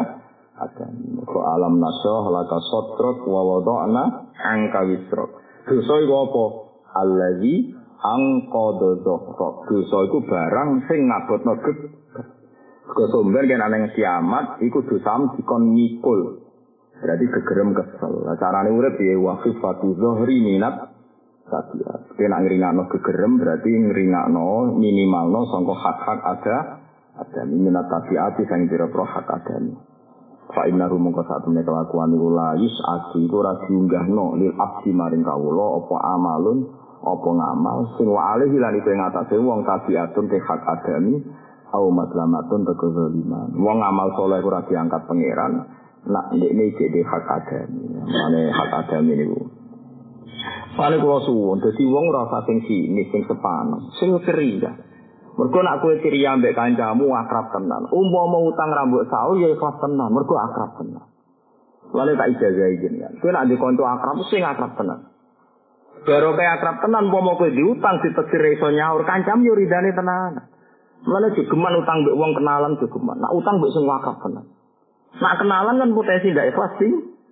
adami. Ko alam nasyah laka sotrok wa wada'na angka wisrok. Dosa iku apa? Allazi angqadha dhuhrok. Dosa iku barang sing ngabotno geger. Kesumber kan ana kiamat iku dosam dikon mikul. Berarti gegerem kesel. Carane urip piye waqifatu zuhri minat tabiat. Kena ngringakno gegerem berarti ngringakno minimalno sangka hak-hak ada minat tabiat sing dira-dira hak adami. Fa inna rumangka satune kelakuan iku la yus'ati iku ora diunggahno lil abdi maring kawula apa amalun apa ngamal sing wa alih lan iku ing atase wong tabiatun te hak adami au maslamatun tekezaliman. Wong amal saleh ora diangkat pangeran, nak ndekne iki hak adami. Mane hak adami niku. Paling kula suwun, dadi wong ora usah sing sinis, sing sepanas, sing ceria. Mergo nak kowe ceria mbek kancamu akrab tenan. Umpama utang rambut saul ya ikhlas tenan, mergo akrab tenan. Lha tak ijazahi jenengan. Kowe nak ndek kanca akrab sing akrab tenan. Baru kaya akrab tenan umpama kowe diutang ditegir iso nyaur kancam yo ridane tenan. Mulane jogeman utang mbek wong kenalan jogeman. Nak utang mbek sing akrab tenan. Nak kenalan kan potensi ndak ikhlas sing.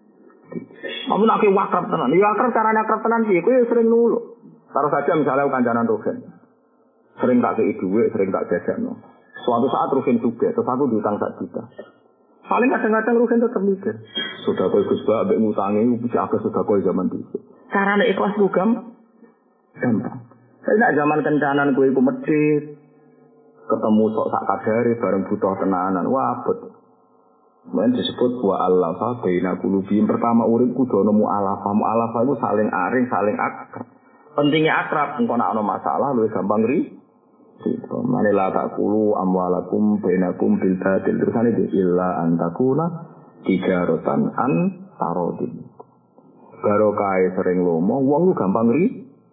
Amun nek akrab tenan, ya akrab carane akrab tenan piye? Kowe sering nuluk. Taruh saja misalnya kancanan Rugen. Sering tak kei dhuwit, sering tak jajakno. Suatu saat Rugen sugih, terus aku diutang 1 juta. Paling kadang-kadang Rugen tetep mikir, sudah kowe Gus Ba mbek ngutangi bisa akeh sudah kowe zaman dhisik. Carane ikhlas ku gampang. Saya nak zaman kencanan kowe iku medhit. Ketemu sok sak kadare bareng butuh tenanan. Wah, abot. Men disebut wa allafa baina qulubihim. Pertama urip kudu ana mu'alafa. Mu'alafa itu saling aring, saling akrab. Pentingnya akrab, engko nek ana masalah luwih gampang ri. Mane la taqulu amwalakum bainakum bil batil. Terusane iki illa antakuna tijaratan an tarodin. Barokah sering lomo, wong lu gampang ri.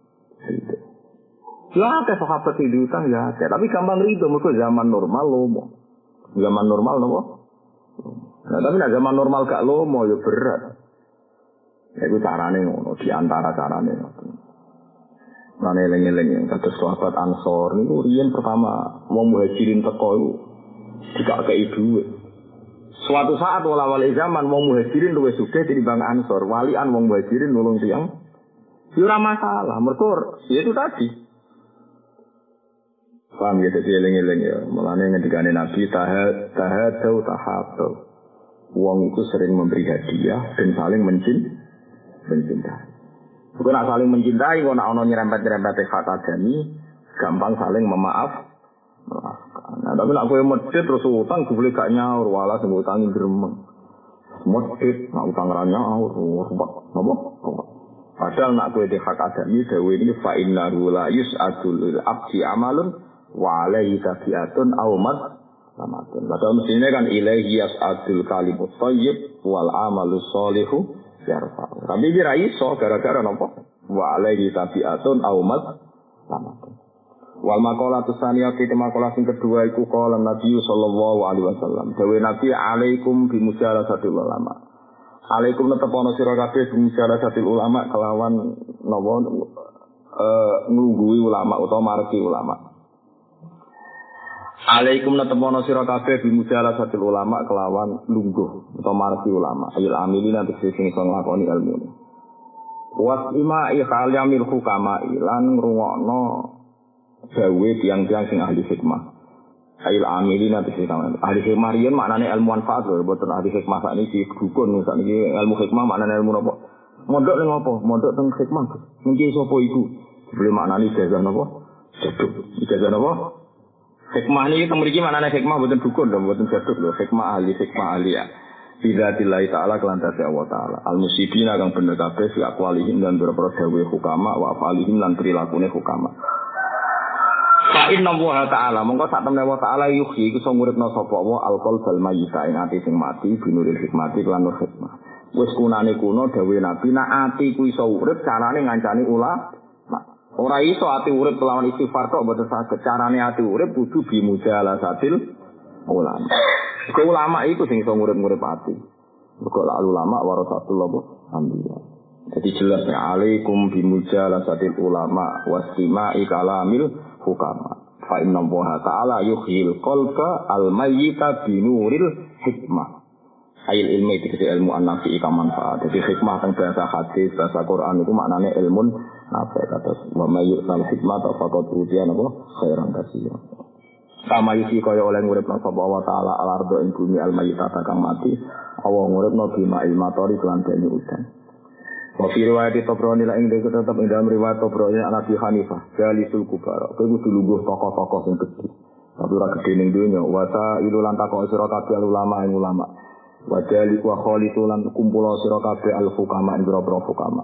Ya, ke sahabat di utang ya, tapi gampang rido mergo zaman normal lomo. Zaman normal nopo? Nah, tapi nek zaman normal gak lomo ya berat. Ya iku carane ngono, di antara carane. Lan eling-eling kados sahabat Ansor niku riyen pertama wong muhajirin teko iku dikakei dhuwit. Suatu saat wala-wali zaman wong muhajirin luwih sugih tinimbang Ansor. Walian wong muhajirin nulung tiyang. Ya ora masalah, mergo ya itu tadi. Paham ya, jadi eling-eling ya. Mulanya ngendikane Nabi tahadau. Wong itu sering memberi hadiah dan saling mencintai. Bukan nak saling mencintai, kalau nak ono nyerempet-nyerempet hak adami, gampang saling memaafkan. Nah, tapi nak kowe medhit terus utang boleh gak nyaur, wala sing utangi gremeng. Medhit, nak utang ra nyaur, napa? Padahal nak kowe hak adami dawuh ini fa innahu la yus'adul abdi amalun wa alaihi tabiatun awmat samatun. Padahal mestinya kan ilaihi yas'adul kalimut thayyib wal amalus sholihu yarfa. Tapi kira iso gara-gara napa? Wa alaihi tabiatun awmat samatun. Wal maqalatu tsaniyah kita maqalah sing kedua iku qala Nabi sallallahu alaihi wasallam. Dawe Nabi alaikum bimujalasatil ulama. Alaikum netepono sira kabeh bimujalasatil ulama kelawan napa nglungguhi ulama utawa margi ulama. Alaikum netepono sira kabeh bimujalasatil ulama kelawan lungguh utawa margi ulama. Ayil amilina tegese sing iso nglakoni ilmu. Wasima ikhalyamil hukama lan ngrungokno dawe tiang-tiang sing ahli hikmah. Ayil amilina tegese ahli hikmah riyen maknane ilmu manfaat lho, boten ahli hikmah sakniki dukun sakniki ilmu hikmah maknane ilmu napa? Mondok ning apa? Mondok teng hikmah. Niki sapa iku? Boleh maknane ijazah napa? Jaduk. Ijazah napa? Hikmah ini mriki maknane hikmah boten dukun lho, boten jaduk lho, hikmah ahli ya. Bidzatillahi ta'ala kelantase Allah ta'ala. Al-musibina kang bener kabeh fi aqwalihim lan boro-boro dawuhe hukama wa afalihim lan prilakune hukama. Fa inna wa ta'ala mongko sak temne wa ta'ala yuhyi iku iso nguripno sapa wa al-qalbal mayyita ing ati sing mati binuril hikmati lan nur hikmah. Wis kunane kuno dawuhe Nabi nek ati ku iso urip carane ngancani ora iso ati urip kelawan istighfar tok mboten saged. Carane ati urip kudu bimujalasatil ulama. Ke ulama itu sing iso ngurip-ngurip ati. Mergo ulama warasatul anbiya. Jadi jelas ya alaikum bimujalasatil ulama wastima'i kalamil hukama. Fa inna Allaha ta'ala yuhyil qalba al-mayyita binuril hikmah. Ail ilmu itu ilmu an-nafi ika manfaat. Jadi hikmah teng bahasa hadis, bahasa Quran itu maknanya ilmun nafi kata wa may yu'tal hikmata faqad utiya khairan katsira. Sama yusi kaya oleh nguripno sapa wa ta'ala al-ardo ing bumi al-mayyita kang mati, Allah nguripno bima ilmatori kelan banyu udan. Wa fi riwayat Tabrani la ing tetep ing dalam riwayat Tabrani Nabi Hanifah, jalisul kubara. Kuwi kudu lungguh tokoh-tokoh sing gedhe. Tapi ora gedhe ning donya, wa ta'ilu lan takok sira kabeh ulama ing ulama. Wa jali wa khalitu lan kumpul sira kabeh al-hukama ing boro hukama.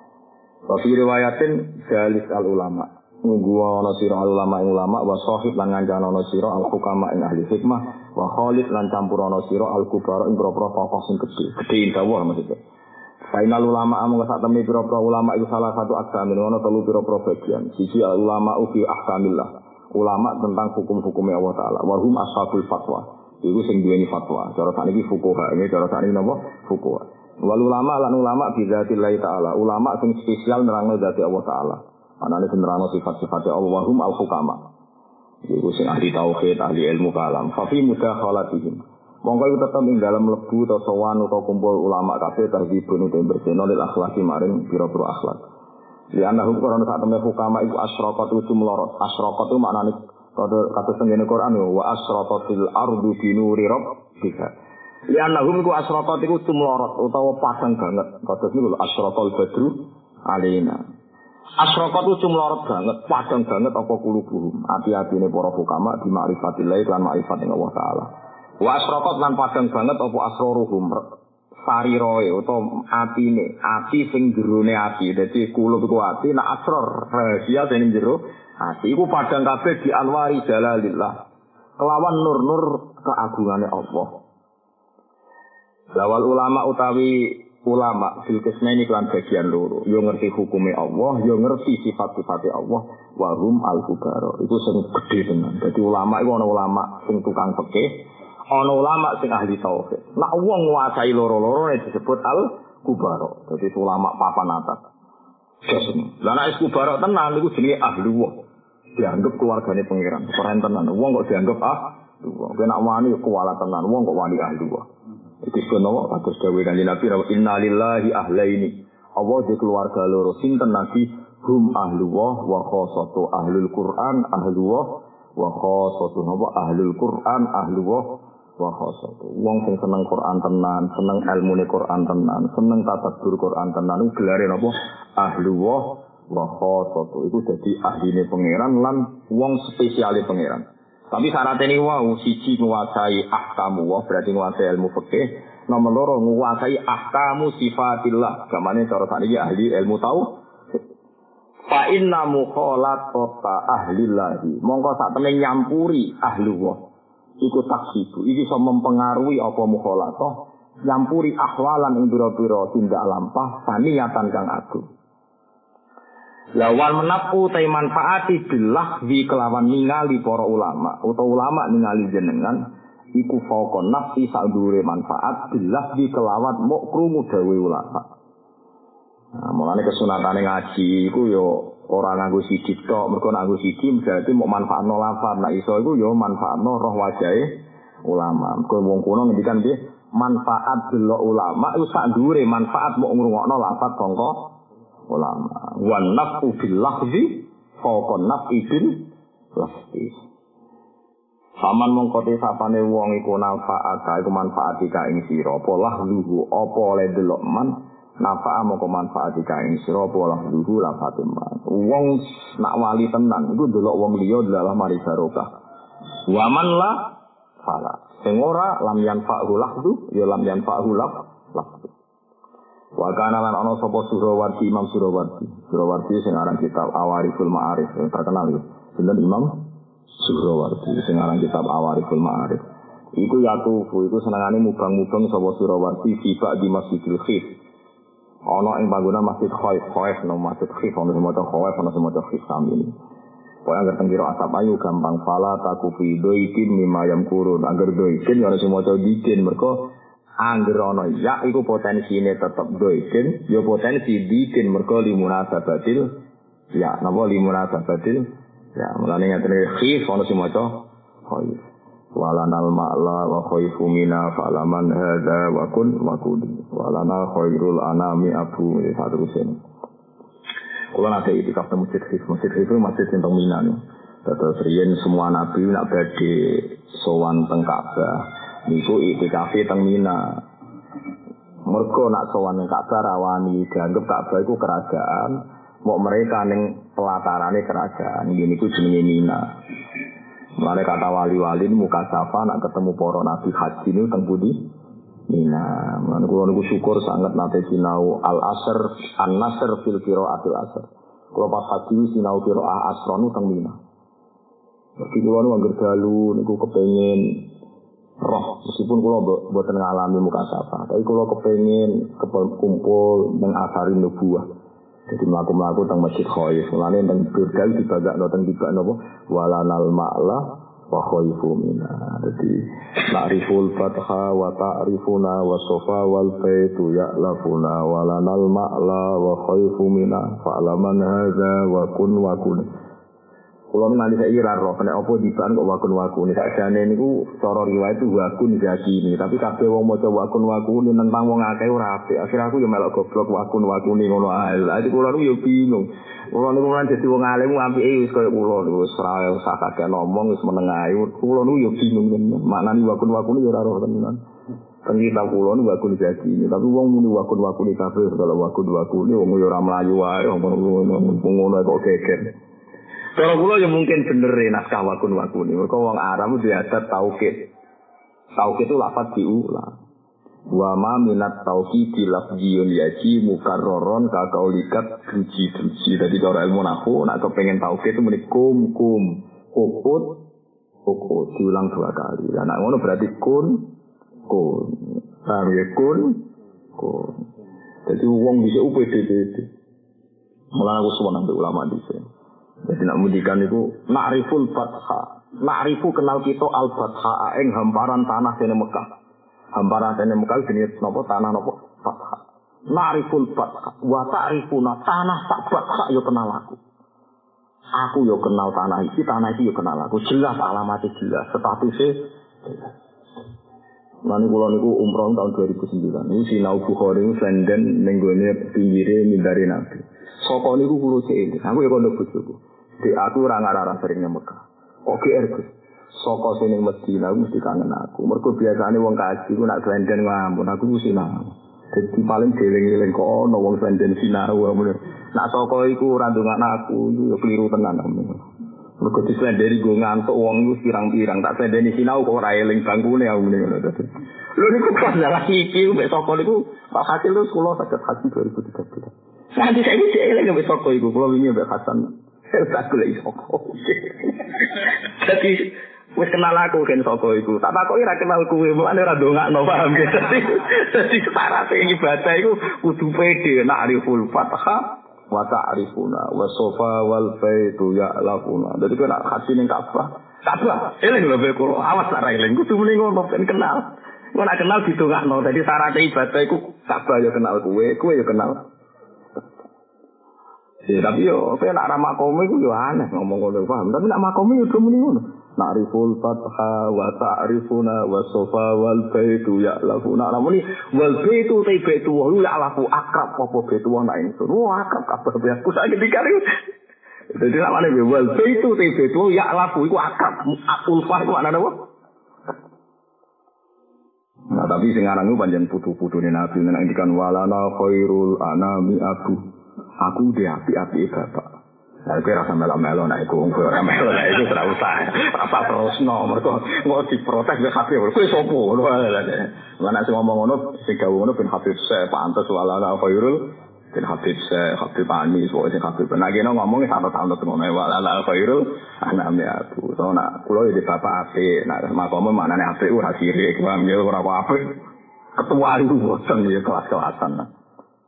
Wa fi riwayatin jalis al-ulama. Nunggu ana sira ulama ing ulama wa sahib lan ngancana ana sira al-hukama ing ahli hikmah wa khalid lan campur ana sira al-kubara ing boro tokoh sing gedhe indawa maksudnya. Final ulama amung sak temne pira-pira ulama iku salah satu agama ana telu pira-pira bagian. Siji ulama fi ahkamillah. Ulama tentang hukum-hukumnya Allah taala. Warhum ashabul fatwa. Iku sing duweni fatwa. Cara sakniki fuqaha, ini cara sakniki napa? Fuqaha. Wal ulama lan ulama bi dzatillahi taala. Ulama sing spesial nerangno dzati Allah taala. Anane sing nerangno sifat-sifat Allah warhum al hukama. Iku sing ahli tauhid, ahli ilmu kalam. Fa fi mudakhalatihim. Monggo iku tetep ing dalam lebu utawa sowan utawa kumpul ulama kabeh tahdibun utawa berseno lil akhlaki maring pira-pira akhlak. Li annahu qarana sak temne hukama iku asyraqatu tumlorot. Asyraqatu maknane kata tengene Quran wa asyraqatil ardu binuri rabbika. Li annahu iku asyraqat iku tumlorot utawa padang banget. Kados niku asyraqal badru alaina. Asyraqat itu tumlorot banget, padang banget apa kulubuhum. Ati-atine para hukama di ma'rifatillah lan ma'rifat Allah taala. Wa asraqat lan padang banget apa asroruhum sariroe utawa atine ati sing jerone ati dadi kulub iku ati nek asror rahasia sing jero ati iku padang kabeh di anwari jalalillah kelawan nur-nur keagungane Allah. Lawal ulama utawi ulama fil kismaini kelan bagian loro yo ngerti hukume Allah yo ngerti sifat-sifate Allah warum al-kubara iku sing gedhe tenan. Dadi ulama iku ana ulama sing tukang fikih ana ulama sing ahli tauhid. Nek wong nguasai loro-loro disebut al-kubara. Dadi ulama papan atas. Lah nek kubara tenan niku jenenge ahluwah. Dianggap keluargane pangeran. Keren tenan. Wong kok dianggap ahluwah. Nek wani kuwala tenan, wong kok wani ahluwah. Iki senawa kados dawuh Kanjeng Nabi innalillahi ahlaini. Allah di keluarga loro sinten Nabi hum ahluwah wa khassatu ahlul Quran ahluwah wa khassatu ahlul Quran ahluwah wa khasatu. Wong sing seneng Quran tenan, seneng ilmune Quran tenan, seneng tadabbur Quran tenan iku gelare napa? Ahlullah wa khasatu. Iku dadi ahline pangeran lan wong spesiale pangeran. Tapi syaratnya ini wau siji nguasai ahkamu wa berarti nguasai ilmu fikih, nomor loro nguasai ahkamu sifatillah. Gamane cara sakniki ahli ilmu tau. Fa inna mukhalatata ahlillahi. Mongko sak temene nyampuri ahlullah. Iku taksibu, iki iso mempengaruhi apa mukhalatah nyampuri ahwalan ing pira-pira tindak lampah saniyatan kang agung. Lawan menapu ta manfaati billah bi kelawan ningali para ulama utawa ulama ningali jenengan iku fauqa nafsi sadure manfaat billah bi kelawan mok krungu dawe ulama. Nah, mulane kesunatane ngaji iku yo ora nganggo sithik tok, mergo nganggo sithik berarti mok manfaatno lafaz. Nek iso iku yo manfaatno roh wajahe ulama. Mergo wong kuno ngendikan piye? Manfaat delok ulama iku sak dhuwure manfaat mok ngrungokno lafaz sangka ulama. Wan nafu bil lafzi fauqa nafi bil lafzi. Saman mongko te sapane wong iku manfaat iku manfaati ka ing sira apa lahluhu apa oleh delok man nafa'a mongko manfaati ka ing sira apa lahluhu lafatum man. Wong nak wali tenan iku delok wong liya dalah mari barokah. Wa man la fala. Sing ora lam yanfa'hu lahdu ya lam yanfa'hu lahdu. Wa kana lan ana sapa Surawardi Imam Surawardi. Surawardi sing aran kitab Awariful Ma'arif terkenal ya. Sinten Imam Surawardi sing aran kitab Awariful Ma'arif. Iku yatufu iku senengane mubang-mubang sapa Surawardi sifat di Masjidil Khif. Ana ing panggonan Masjid Khaif no Masjid Khif ana sing maca Khaif ana sing maca Khif sami. Pokoke anggere tengkira asap ayu gampang fala takufi doikin mimayam kurun. Angger doikin ana sing maca dikin mergo angger ana ya iku potensine tetep doikin, ya potensi dikin mergo limunasabatil ya napa limunasabatil ya mulane ngaten khif ana sing maca khaif. Walanal ma'la wa khaifu mina fa'laman hadza wa kun wa kudi. Walana khairul anami abu saterusé. Kalau nanti itikaf di masjid itu masjid yang teng Mina nih. Terus riyen semua nabi nak badhe sowan teng Ka'bah. Niku itikaf teng Mina. Mergo nak sowan teng Ka'bah rawani dianggap Ka'bah iku kerajaan. Mau mereka ning pelatarane kerajaan. Ngene iku jenenge Mina. Mulane kata wali-wali muka safa nak ketemu para nabi haji niku teng pundi? Mina, mana kalau nunggu syukur sangat nate sinau al-asr, an-nasr fil qiraatil asr. Kalau pas haji sinau qiraah asronu teng Mina. Jadi kalau nunggu angger dalu niku kepengen roh, meskipun kalau boten ngalami mukasafah, tapi kalau kepengen kumpul nang asarin nubuwah. Jadi mlaku-mlaku teng Masjid Khaif, mulane teng Burdal dibagakno teng tibak napa walanal ma'la wa khaifu mina. Jadi na'riful fatha wa ta'rifuna wa sofa wal baitu ya'lafuna walanal ma'la wa khaifu mina fa'laman hadza wa kun. Kalau nanti saya ira roh, kena apa dibaan kok wakun sakjane niku cara riwayat itu wakun zakini, tapi kabeh wong maca wakun tentang wong akeh ora apik. Akhire aku yo melok goblok wakun ngono ae. Lah iki kula yo bingung. Kula niku kan dadi wong alim apike wis koyo kula niku wis ora usah kakek ngomong wis meneng ae. Kula niku yo bingung tenan. Maknane wakun yo ora roh tenan. Kan kita kula niku wakun zakini, tapi wong muni wakun kabeh segala wakun wong yo ora mlayu wae ngono kok geger. Kalau kula ya mungkin bener naskah wakun-wakuni. Mereka wong Arab itu adat taukid. Taukid itu lafaz diulang. Wa ma minat taukid lafziyun yaji mukarraron ka kaulikat druji. Jadi cara ilmu nahwu nak kepengin taukid itu muni kum ukut diulang 2 kali. Lah nek ngono berarti kun. Paham ya kun. Jadi wong bisa UPDP. Mulane aku suwun ambek ulama dhisik. Jadi nak mudikan itu na'riful fatha. Na'rifu kenal kita al-fatha ing hamparan tanah dene Mekah. Hamparan dene Mekah jenis napa tanah napa fatha. Na'riful fatha wa ta'rifuna tanah sak fatha yo kenal aku. Aku yo kenal tanah iki yo kenal aku. Jelas alamatnya jelas, statusnya jelas. Mane kula niku umroh tahun 2009. Niku sinau Bukhari London ning gone pinggire mindare Nabi. Saka niku kula cilik. Aku ya kono bojoku. Di aku ora ngarah sering nang Mekah. Kok GR Gus. Saka sing ning Madinah mesti kangen aku. Mergo biasane wong kaji ku nak London ngampun aku mesti nang. Dadi paling deling-eling kok ana wong London sinau ngono. Nak saka iku ora ndongakno aku yo keliru tenan. Mergo disendiri go ngantuk wong iku pirang-pirang tak sendeni sinau kok ora eling bangkune aku ngono. Lho niku pas jalan iki mek saka niku Pak Hasil lu kula saged haji 2013. Nanti saya iki eling mek saka iku kula wingi mek Hasan. Tak golek saka. Dadi wis kenal aku kan saka iku. Tak takoki ra kenal kuwe, mulane ora ndongakno paham ge. Dadi syarat ibadah iku kudu pede nak ariful fatha wa ta'rifuna wa sofa wal baitu ya'lafuna. Dadi kok nak hati ning Ka'bah. Ka'bah, eling lho kowe kula. Awas nak ra eling kudu muni ngono ben kenal. Kok nak kenal didongakno. Dadi syarat ibadah iku Ka'bah ya kenal kowe ya kenal. Tapi yo kowe nak ra makome iku yo aneh ngomong ngono paham. Tapi nak makome yo muni ngono. Na'riful fatha wa ta'rifuna wa sofa wal baitu ya'lafuna. Namuni wal baitu baitu wa ya'lafu akrab apa baitu wa ingsun. Wah akrab kabeh ya. Ku saiki dikari. Dadi namane wal baitu baitu ya'lafu iku akrab. Ulfah iku maknane apa? Nah tapi sing aran iku pancen putu-putune Nabi nek ngendikan walana khairul anami abu. Aku dhe api-api bapak. Nah, kowe rasa melo-melo nek iku wong ora melo nek iku ora usah. Rasa terusno mergo mau diprotes wis HP. Kowe sapa ngono ae. Lan sing ngomong ngono sing gawe ngono ben Habib Syekh pantes walana khairul ben Habib Syekh Habib Ani sing Habib. Nek kene ngomong satu-satu ngono walana khairul aname aku. So nak kula iki bapak apik, nak makome maknane apik ora sirik, paham ya ora apa-apa. Ketua itu bosen ya kelas-kelasan.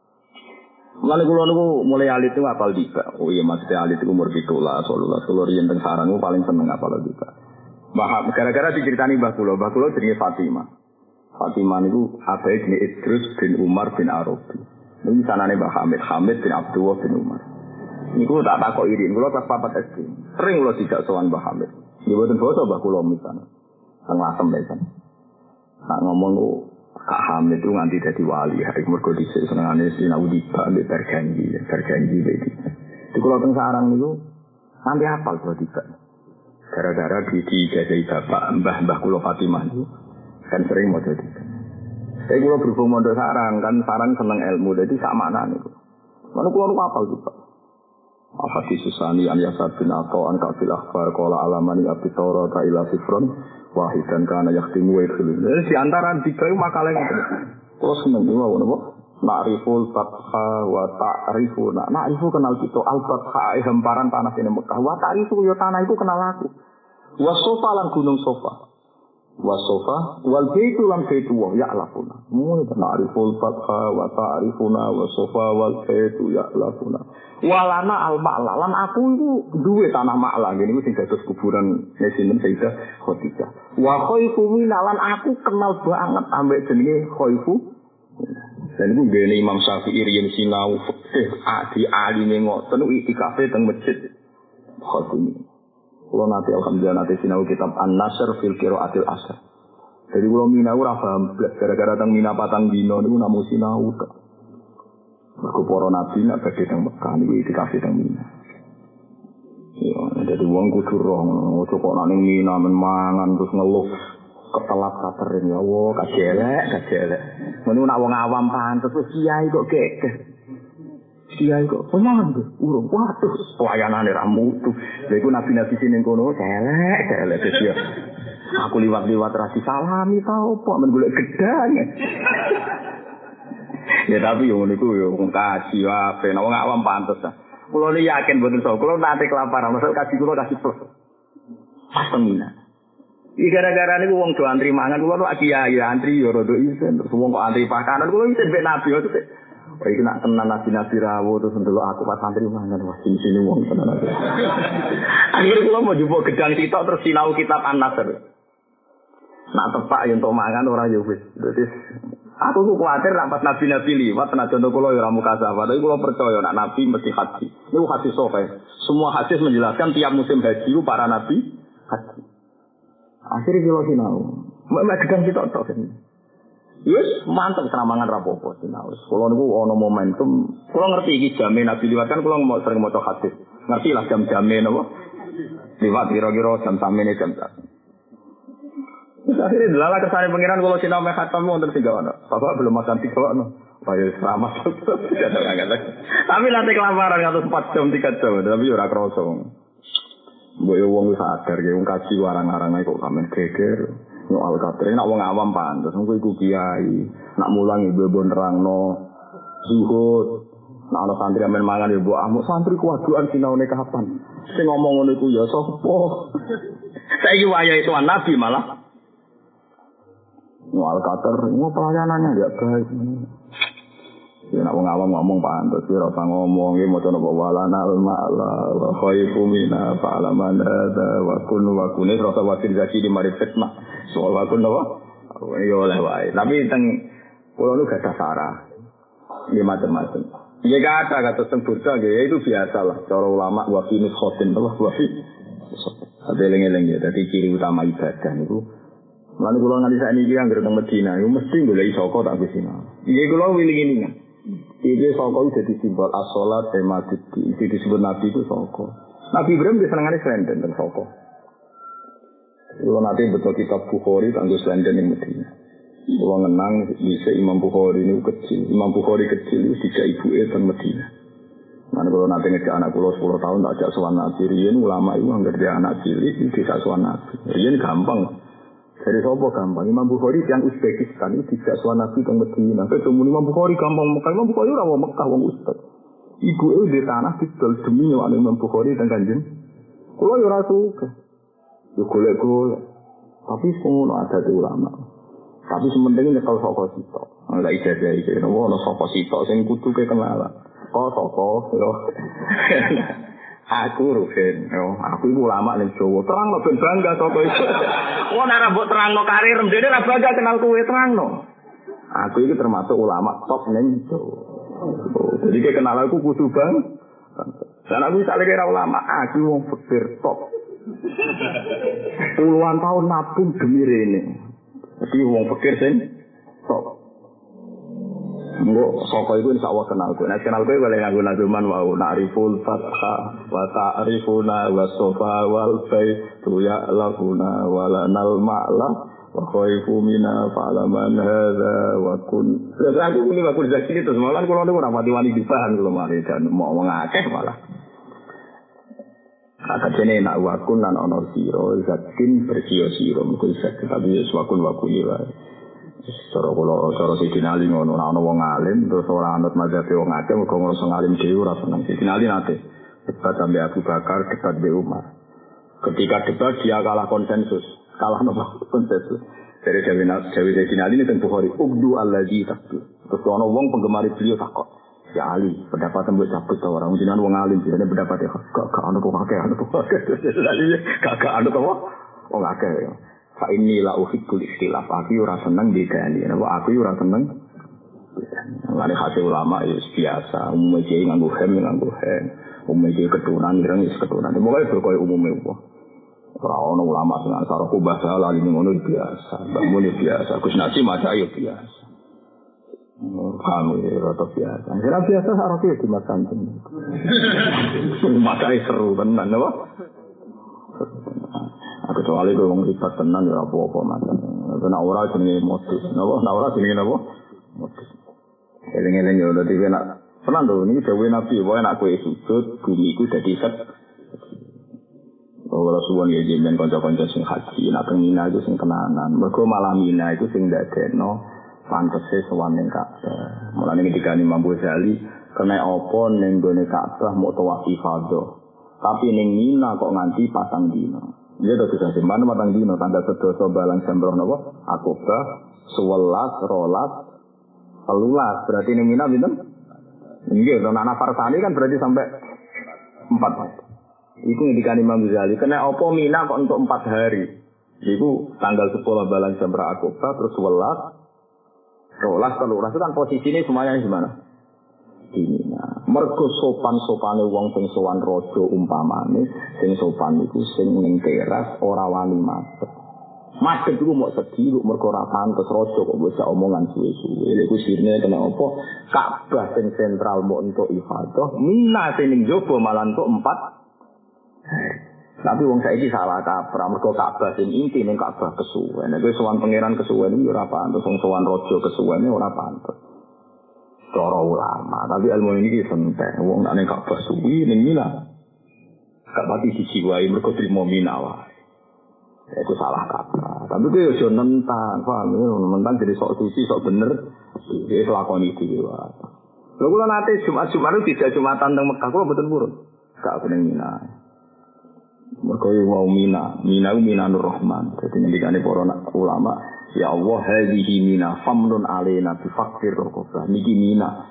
Lalu kalau niku mulai alit itu apal juga. Oh iya maksudnya alit itu umur 17, 18. Kalau riyen teng sarang niku paling seneng apal juga. Bahkan gara-gara diceritani Mbah kula jenenge Fatimah. Fatimah niku abahe jenenge Idris bin Umar bin Arabi. Niku sanane Mbah Hamid bin Abdullah bin Umar. Niku tak takok irin, kula kelas 4 SD. Sering kula dijak sowan Mbah Hamid. Nggih boten basa Mbah kula misalnya. Teng Lasem mesan. Nak ngomong Kak Hamid itu nganti dadi wali, hari mergo dhisik senengane sinau tiba mbek berjanji iki. Di kula teng sarang niku nganti hafal kula tiba. Gara-gara dijajahi bapak mbah kula Fatimah niku kan sering maca tiba. Saya kula berhubung mondok sarang kan sarang seneng ilmu dadi sak maknane niku. Lan kula hafal tiba. Al-Hadis Susani an Yasar bin Atha an Kafil Akhbar qala alamani abi Taurat ila sifron wahid dan kana yakhtimu wa yakhlu. Di antara tiga makalah itu. Terus seneng wae napa? Na'riful fatha wa ta'rifuna. Na'rifu kenal kita al-fatha hamparan tanah ini Mekah. Wa ta'rifu ya tanah itu kenal aku. Wa sofa lan gunung sofa. Wa sofa wal baitu lan baitu wa ya'lafuna. Mun na'riful fatha wa ta'rifuna wa sofa wal baitu ya'lafuna. Walana al-ma'la lan aku itu duwe tanah ma'la ngene iku sing dados kuburan Sinten Sayyidah Khadijah. Wa khaifu minalan aku kenal banget ambek jenenge khaifu. Dan iku ngene Imam Syafi'i riyen sinau fikih adi aline ngoten itikafe teng masjid Khatimi. Kulo nate alhamdulillah nate sinau kitab An-Nasr fil Qiraatil Asr. Jadi kulo minau ora paham gara-gara teng Mina patang dino niku namung sinau tok. Mergo para nabi nek badhe teng Mekah niku itikafe teng Mina. Ya, dadi wong kudu roh ngono, kok nek ning Mina men mangan terus ngeluh ketelat katering ya Allah, kajelek. Menung nak wong awam pantes wis kiai kok gekeh. Kiai kok mangan tuh, urung waduh, pelayanane ra mutu. Lha iku nabi-nabi sing kono celek dia. Aku liwat-liwat ra disalami ta opo men golek gedang. Ya tapi yo niku yo wong kaji wae, nek wong awam pantes ta. Kulo yakin mboten iso, kulo nate kelaparan, maksud kaji kulo kasih plus. Pastemina. Iki gara-gara niku wong do antri mangan, kulo nu kiai antri yo rada isen, terus wong kok antri pakanan, kulo isen mbek nabi yo. Oh iki nak tenan nabi-nabi rawuh terus ndelok aku pas antri mangan, wah sini wong tenan aku. Akhire kulo mau njupuk gedang sitok terus sinau kitab An-Nasr. Nak tepak yen tok mangan ora yo wis. Dadi aku ku kuwatir nek pas nabi-nabi liwat tenaga kula yo ora mukasafah, tapi kula percaya nek nabi mesti haji. Niku hadis sahih. Semua hadis menjelaskan tiap musim haji itu para nabi haji. Akhirnya kula sinau. Mek gedang sitok tok. Yes, mantep senamangan rapopo sinau. Kula niku ana momentum, kula ngerti iki jame nabi liwat kan kula sering maca hadis. Ngerti lah jam-jame napa? Liwat kira-kira jam samene jam. Akhirnya delala kesane pengiran kalau sinau mek khatam wonten sing gawana. Bapak belum makan tikokno. Bayo selamat. Tapi nanti kelaparan ngatus 4 jam 3 jam tapi ora krasa. Mbok yo wong sadar ge wong kaji warang-arang kok kamen geger. Nyoal kater nek wong awam pantes mung iku kiai. Nak mulang ibu nerangno zuhud. Nak ana santri amen mangan yo mbok amuk santri kuwaduan sinaune kapan. Sing ngomong ngono iku ya sapa? Saiki waya itu nabi malah Al-Qatar, pelayanannya enggak baik. Ya nak wong awam ngomong pantes ora usah ngomong iki maca napa walana ma'la wa khaifu mina fa'laman hadza wa kun wa kunis rasa wakil zaki di mari fitnah. Soal wa kun napa? Ya oleh wae. Tapi teng kula nu gak sarah. Ya macam-macam. Ya kata kata sempurna ya itu biasalah cara ulama wa fi khotin Allah wa fi ada lengi-lengi ya dadi ciri utama ibadah niku. Lan kula nganti sakniki anggere teng Medina iku mesti golek saka tak bisina. Iki kula wiling-wilingan. Iki saka dadi simbol as-shalat emaditi. Iki disebut Nabi itu saka. Nabi Ibrahim disenengane slenden teng saka. Kula nate betul kitab Bukhari kanggo slenden ing Medina. Kula ngenang bisa Imam Bukhari niku kecil. Imam Bukhari kecil itu tiga ibuke teng Medina. Mana kalau nanti ngejak anak pulau 10 tahun tak ajak sowan Nabi, riyen ulama itu anggar dia anak cilik dijak sowan Nabi. Riyen gampang. Dari sopo gampang. Imam Bukhari yang Uzbekistan itu dijak sowan Nabi teng Medina. Ketemu Imam Bukhari gampang. Imam Bukhari ora wong Mekah wong Uzbek. Ibu di tanah didol demi nyuwun Imam Bukhari teng Kanjeng. Kula yo ora suka. Yo golek-golek. Tapi ngono ada ulama. Tapi sementing nyekel saka sitok. Ora ijazah iki. Ono saka sitok sing kudu kenalan. Soko yo. Aku Ruhin, aku iku ulama ning Jawa. Terangno ben bangga soko iku. Wong ora mbok terangno karir mrene ora bangga kenal kowe terangno. Aku iki termasuk ulama top ning Jawa. Jadi ke kenal aku kudu bang. Dan aku misalnya kira ulama, aku wong fakir top. Puluhan tahun nabung demi rene. Jadi wong fakir sing top. Engko saka iku insyaallah kenal kowe. Nek kenal kowe boleh nganggo nazuman wa na'riful fatha wa ta'rifuna wa sofa wal baitu ya'lafuna wa lanal ma'la wa khaifu mina fa'laman hadza wa kun. Terus aku muni waktu zakini terus malah kula niku ora mati-mati dipahan kula mari dan mau ngakeh malah. Kata jene nak wakun lan ana sira zakin bersio-siro mung zakin tapi wakun wakuni wae. Cara kula cara Sidina Ali ngono ana wong alim terus ora anut mazhab wong akeh mergo ngrasa ngalim dhewe ora seneng. Sidina Ali nate debat sampai Abu Bakar, debat be Umar. Ketika debat dia kalah konsensus. Kalah napa konsensus. Dari Dewi Sidina Ali teng Bukhari, "Ubdu allazi takdu." Terus ana wong penggemar beliau takok, "Ya Ali, pendapat mbok cabut ta ora? Jenengan wong alim, jenenge pendapat gak ana kok akeh, ana kok akeh." Gak ana to. Wong akeh. Fa inni la uhibbul ikhtilaf. Aku ora seneng bedani. Aku ora seneng. Ngene hati ulama ya biasa. Umumnya iki nganggo hem. Umumnya iki keturunan ireng is keturunan. Moga berkoyo umume wong. Ora ono ulama sing asar ku bahasa lali ngono biasa. Mbakmu biasa. Gus Nasi maca ya biasa. Kami rata biasa. Kira biasa sarap ya di Mas Kanjeng. Maca seru tenan apa? Aku soalnya gue ngomong ribat tenan ya apa-apa macam. Karena ora jenenge modus, napa? Nah ora jenenge napa? Modus. Eleng-eleng ya udah tiba nak tenan lho niki dawuh Nabi, wae nak kowe sujud bumi iku dadi set. Ora suwon ya jenengan kanca-kanca sing haji, nak teng Mina iku sing kenanan. Mergo malah Mina iku sing ndadekno pantese sowan ning Ka'bah. Mulane ketika Imam Ghazali kena apa ning gone Ka'bah mau tawaf ifadah. Tapi ning Mina kok nganti pasang dina. Dia tuh bisa simpan matang dino tanda sedoso balang sembroh nopo akobah 11 rolas 13 berarti ini mina binten nggih to anak farsani kan berarti sampai 4 itu ngendikan Imam Ghazali kena apa mina kok untuk 4 hari itu tanggal 10 balang sembroh akobah terus 11 rolas 13 itu kan posisinya semuanya gimana ini mergo sopan-sopane wong sing sowan raja umpamane sing sopan iku sing ning teras ora wani madhep. Madhep iku mok sedhi mergo ora pantes raja kok bisa omongan suwe-suwe. Lha iku sirine kena apa? Ka'bah sing sentral mok entuk ifadah, Mina sing ning jaba malah entuk 4. Tapi wong saiki salah kaprah mergo Ka'bah sing inti ning Ka'bah kesuwen. Nek sowan pangeran kesuwen iki ora pantes, wong sowan raja kesuwene ora pantes. Cara ulama, tapi ilmu ini santai. Wong nek ning Ka'bah suwi ning Mina. Gak pati dijiwai mergo trimo Mina wae. Itu salah kaprah. Tapi ku yo nentang, paham ya, nentang jadi sok suci, sok bener. Iki lakoni dhewe wae. Lha kula nate Jumat-Jumat tidak Jumatan teng Mekah kula mboten purun. Gak ning Mina. Mergo wau Mina ku Minanur Rahman. Dadi ngendikane para ulama, ya Allah hadhihi Mina famnun alaina bi faqir raqabah. Niki Mina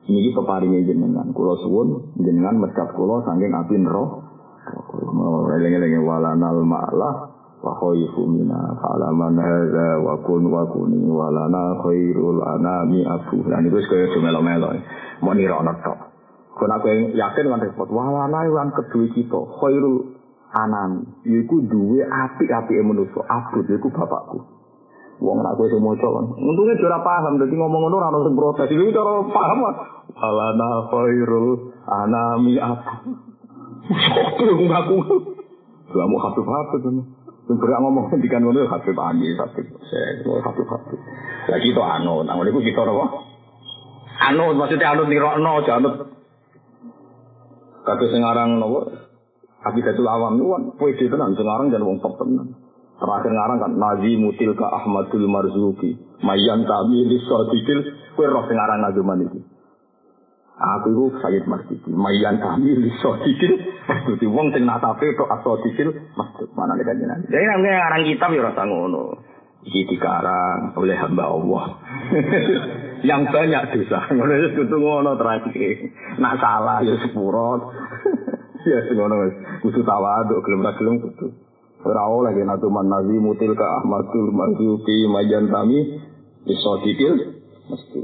Niki peparinge jenengan, kula suwun jenengan mecat kula saking api neraka. Eling-eling walanal ma'lah wa khaifu mina falaman hadza wa kun wa kuni walana khairul anami afu. Lan iku kaya melo-melo. Mau nirokno tok. Kon aku yakin lan repot walana lan kedue kita khairul anami. Iku duwe apik-apike manusa. Abot iku bapakku. Wong nak kowe semoco kan. Untunge ora paham dadi ngomong ngono ora ono sing protes. Iki cara paham. Alana khairul anami aku. Aku ngaku. Lah mau habis-habis kan. Sing berak ngomong dikan ngono habis angi tapi saya habis-habis. Lah kita anut, nang niku kita apa? Anut maksudnya anut nirokno aja anut. Kabeh sing aran napa? Habidatul awam niku kan pede tenan sing aran jan wong top tenan. Terakhir ngarang kan Nazimutil ka Ahmadul Marzuki Mayan tabi lisodikil kue roh sing aran nazuman iki. Aku iku Sayyid Marzuki Mayan tabi lisodikil maksud wong sing natape tok asodikil maksud mana nek jenengan. Jadi namanya ngarang kitab ya rasa ngono. Iki dikarang oleh hamba Allah. Yang banyak dosa. Ngono wis kudu ngono terakhir. Nak salah ya sepurot. Ya ngono wis kudu tawaduk gelem ra gelem kudu. Ora oleh natuman Nazimutil ka Ahmadul Marzuki Mayan Tami isodikil mesti.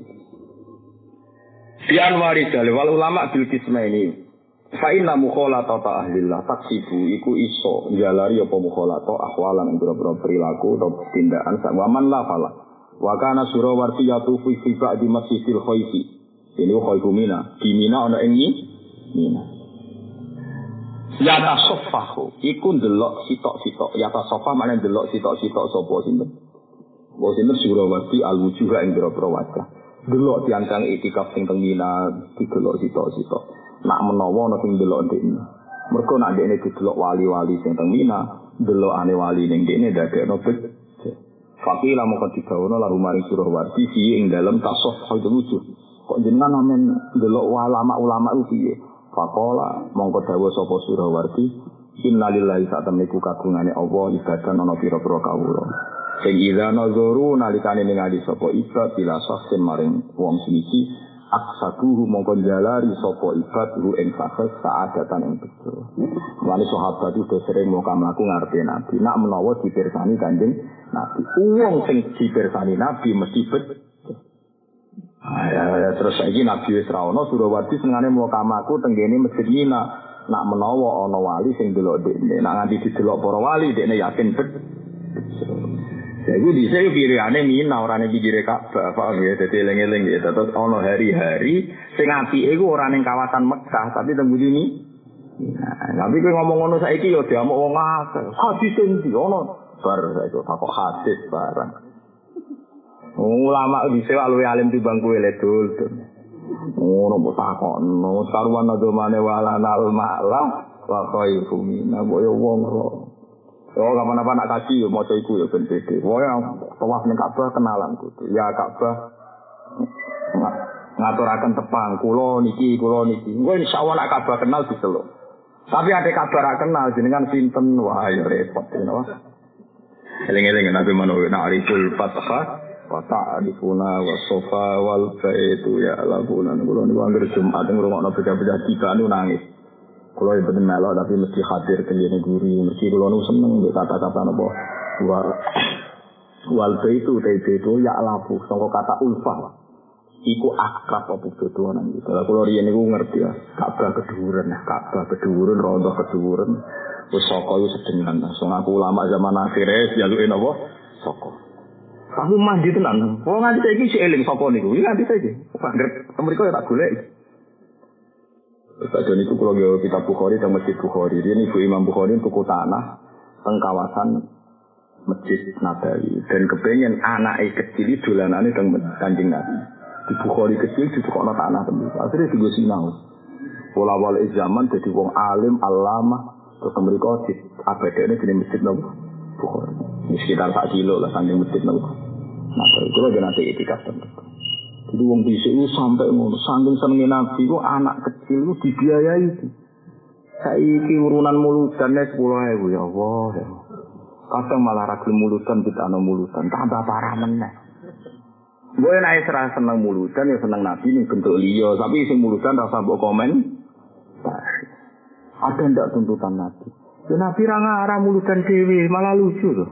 Pian waridal wal ulama bil kismaini. Fa inna mukhalatata ahlillah taksibu iku iso njalari apa mukhalata ahwalan boro-boro perilaku atau tindakan sakwaman la fala. Wa kana Surawarti yatufu fi ba'di Masjidil Khaifi. Ini khaifu mina. Di Mina ana ing Mina. Yata sofahu, iku ndelok sitok-sitok. Yata sofa mana ndelok sitok-sitok sapa sinten? Wa sinten Surawarti al-wujuha ing boro-boro wajah. Delok tiang-tiang itikaf sing teng Mina didelok sitok-sitok. Nak menawa ana sing ndelok ndekne. Mergo nak ndekne didelok wali-wali sing teng Mina, delokane wali ning ndekne dadekno bet. Fakila moko digawono lalu maring Surawarti fi ing dalem tasawuf wujuh. Kok jenengan amen ndelok ulama-ulama ku piye? Faqala mongko dawuh sapa Surawarti innalillahi sa'tamliku kagungane Allah ibadah ana pira-pira kawula sing idza nazaru nalikane ningali sapa ibad bila saksen maring wong siji aksaduhu mongko jalari sapa ibad ru ing sakes saadatan ing bejo. Wali sahabat itu sering mlaku ngarepe Nabi nak menawa dipirsani Kanjeng Nabi wong sing dipirsani Nabi mesti terus saiki Nabi wis ra ono Surawarti senengane mukamaku tenggene Masjid Mina. Nak menawa ana wali sing delok dekne, nak nganti didelok para wali dekne yakin bet. Jadi dhisik pirane Mina ora ning pinggire Ka'bah, paham ya? Dadi eling-eling ya, terus ana hari-hari sing apike iku ora ning kawasan Mekah, tapi teng mburi ni. Nah, tapi kowe ngomong ngono saiki ya diamuk wong akeh. Hadis sing ndi ono? Bar saiki takok hadis barang. Ulama bisa luwih alim timbang kowe le dul. Ngono mbok takokno, karuan agamane walanal ma'lah wa khaifu mina boyo wong ro. Oh, kapan-kapan nak kaji yo maca iku yo ben pede. Wae tawaf ning Ka'bah kenalan kudu. Ya Ka'bah ngaturaken tepang kula niki. Kowe insyaallah nak Ka'bah kenal diseluk. Tapi ade Ka'bah ra kenal jenengan sinten wah yo repot ngono. Eling-eling Nabi Muhammad na'riful fatha wa ta'rifuna wa sofa wal baitu ya labuna. Kulo niku anggere Jumat ngrungokno beda-beda tiga niku nangis. Kulo ibu melok tapi mesti hadir kene guru, mesti kulo niku seneng kata-kata napa wal baitu ya labu sangka kata ulfah. Iku akrab apa bedo nang iki. Kalau kulo riyen niku ngerti ya, Ka'bah keduren, rondo keduren. Wis saka yo sedengan. Sing aku ulama zaman akhir jaluke napa? Saka. Kamu mandi tenan. Wong nganti saiki si eling sapa niku? Iki nganti saiki. Panggret mriko ya tak golek. Sajen itu kalau gawe kitab Bukhari dan Masjid Bukhari. Ini Ibu Imam Bukhari tuku tanah teng kawasan Masjid Nabawi dan kepengen anake kecil dolanane teng Kanjeng Nabi. Di Bukhari kecil ditukokno tanah temen. Akhire digo sinau. Pola-pola zaman dadi wong alim, alama, terus mriko di abadane jeneng Masjid Bukhari. Ini sekitar 4 kilo lah saking Masjid Nabawi. Nah, itu lagi nanti itikaf tentu. Jadi wong dhisik itu sampai ngono, saking senenge Nabi ku anak kecil ku dibiayai. Saiki urunan muludan 10.000 ya Allah. Kadang malah ra gelem muludan ditano muludan, tambah parah meneh. Gue naik serah seneng muludan ya seneng Nabi nih bentuk liya, tapi sing muludan rasa mbok komen. Ada ndak tuntutan Nabi? Ya Nabi ra ngarah muludan dhewe, malah lucu loh.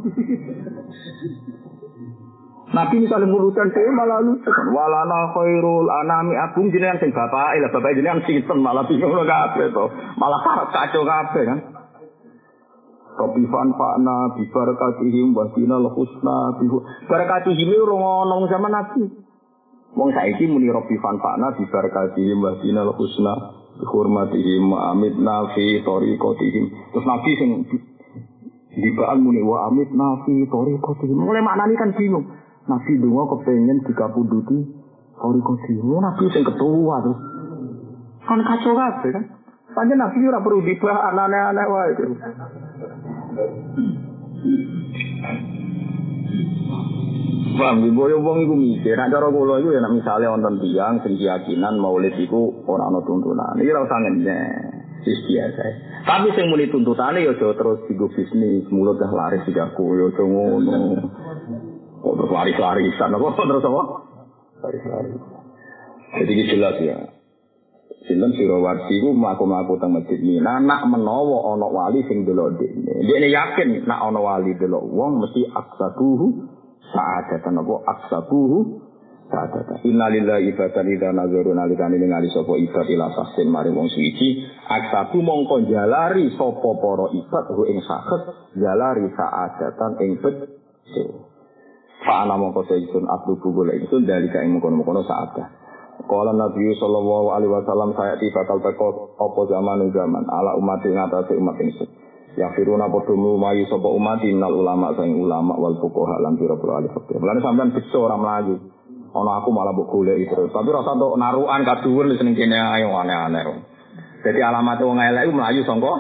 Nabi misalnya muludan dhewe malah lucu kan. Walana khairul anami abung jenengan sing bapake, lah bapake jenengan sinten malah bingung kabeh to. Malah kacau kabeh kan. Kopifan Pakna bibarakatihim wasinal husna bibarakatihim ora ono zaman Nabi. Wong saiki muni Kopifan Pakna bibarakatihim wasinal husna bihormatihim amitna fi tariqatihim. Terus Nabi sing dibaan muni wa amitna fi tariqatihim. Mulai maknane kan bingung. Nabi donga kepengin dikapunduti tariqatihim. Nabi sing ketua terus. Kan kacau kabeh kan. Panjen Nabi ora perlu dibah aneh-aneh wae. Bang, boyo wong iku mikir, nek cara kula iku ya nek misale wonten tiyang sing keyakinan maulid iku ora ana tuntunan. Iki ora usah ngenyek. Wis biasa. Tapi sing muni tuntutane ya aja terus digo bisnis, mulut dah laris digaku ya aja ngono. Kok terus laris-larisan apa terus apa? Laris-laris. Jadi iki jelas ya. Sinten Sirawarsi ku mlaku-mlaku teng Masjid Mina nak menawa ana wali sing delok dekne. Dekne yakin nak ana wali delok wong mesti aksabuhu sa'adatan apa aksabuhu sa'adatan. Innalillahi ibatan idza nazaru nalikane ningali sapa ibad ila tahsin mari wong suci aksabu mongko jalari sapa para ibad hu ing sakhet jalari sa'adatan ing bejo. Fa ana mongko seisun atlubu golek ingsun dalika ing mongko-mongko sa'adah. Kala Nabi sallallahu alaihi wasallam saya bakal teko apa zaman ala umat ing atase umat ingsun. Ya firuna padha mlumayu sapa umat innal ulama saing ulama wal fuqaha lan pira-pira ahli fikih. Mulane sampean bisa ora mlayu. Ana aku malah mbok goleki terus. Tapi rasa entuk narukan kaduwur seneng kene ayo aneh-aneh. Dadi alamat wong elek iku mlayu sangka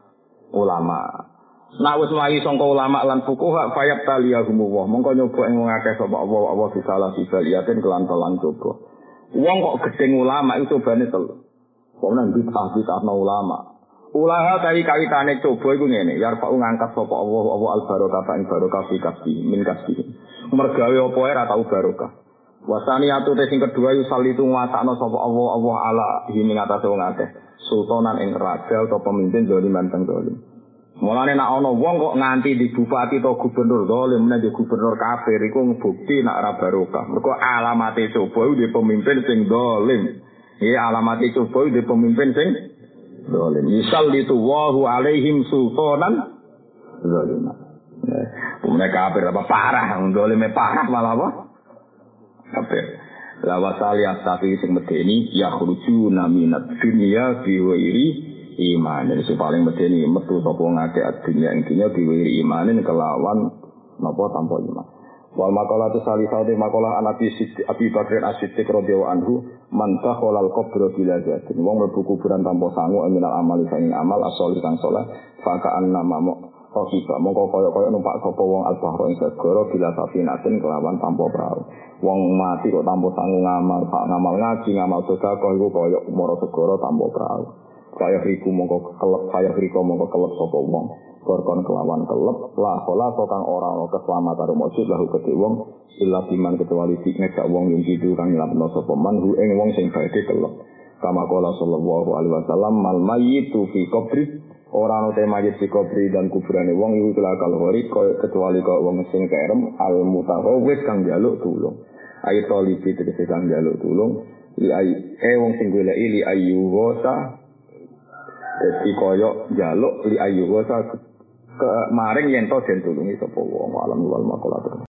ulama. Nek wis mlayu sangka ulama lan fuqaha fayab taliyahumullah. Mongko nyoba ing wong akeh sapa Allah bisalah sibaliatin kelan-kelan coba. Wong kok gedeng ulama itu cobane telu. Kok nang bid'ah-bid'ahno ulama. Ulaha kawitane coba iku ngene, yarfa'u ngangkat sapa Allah al-barokah ing barokah fi kasbi min kasbi. Mergawe apa ora tau barokah. Wasani atu sing kedua yusallitu nguasakno sapa Allah ala ing atase wong akeh. Sultanan ing raja atau pemimpin zaliman teng zalim. Mulane nek ana wong kok nganti di bupati atau gubernur zalim nek gubernur kafir iku ngebukti nek ora barokah. Mergo alamate coba di pemimpin sing zalim. Iki alamate coba di pemimpin sing zalim. Yusallitu Allahu alaihim sultanan zaliman. Mereka kafir apa parah, zalime parah malah apa? Kafir. La wasaliyat tapi sing medeni yakhrujuna minad dunya bi ghairi iman. Jadi paling medeni metu sapa ngake dunya intinya diwiri imanin kelawan napa tanpa iman. Wal maqalah salisate maqalah Abi Bakar As-Siddiq radhiyallahu anhu man takhalal qabra bila zatin. Wong mlebu kuburan tanpa sangu minal amali sing amal as-sholih kang saleh fakaan nama Kofika, mongko kaya numpak sapa wong al-bahra ing segara bila safinatin kelawan tanpa perahu. Wong mati kok tanpa sangu ngamal, sak ngamal ngaji, ngamal sedekah iku kaya mara segara tanpa perahu. Kaya riku mongko kelep sapa wong. Korkon kelawan kelep, la kola kang ora ana keselamatan mujud lahu kedhe wong illa biman kecuali nek wong yang tidur kang nyelametno sapa man hu ing wong sing badhe kelep. Kama qala sallallahu alaihi wasallam mal mayyitu fi qabri ora ana mayit di kubri dan kuburane wong iku kelakal hori kecuali kok wong sing kerem al mutahawwis kang njaluk tulung. Ayo tolibi tegese kang njaluk tulung li wong sing goleki li ayu wasa dadi koyo njaluk li ayu wasa maring yen to den tulungi sapa wong alam wal makolat.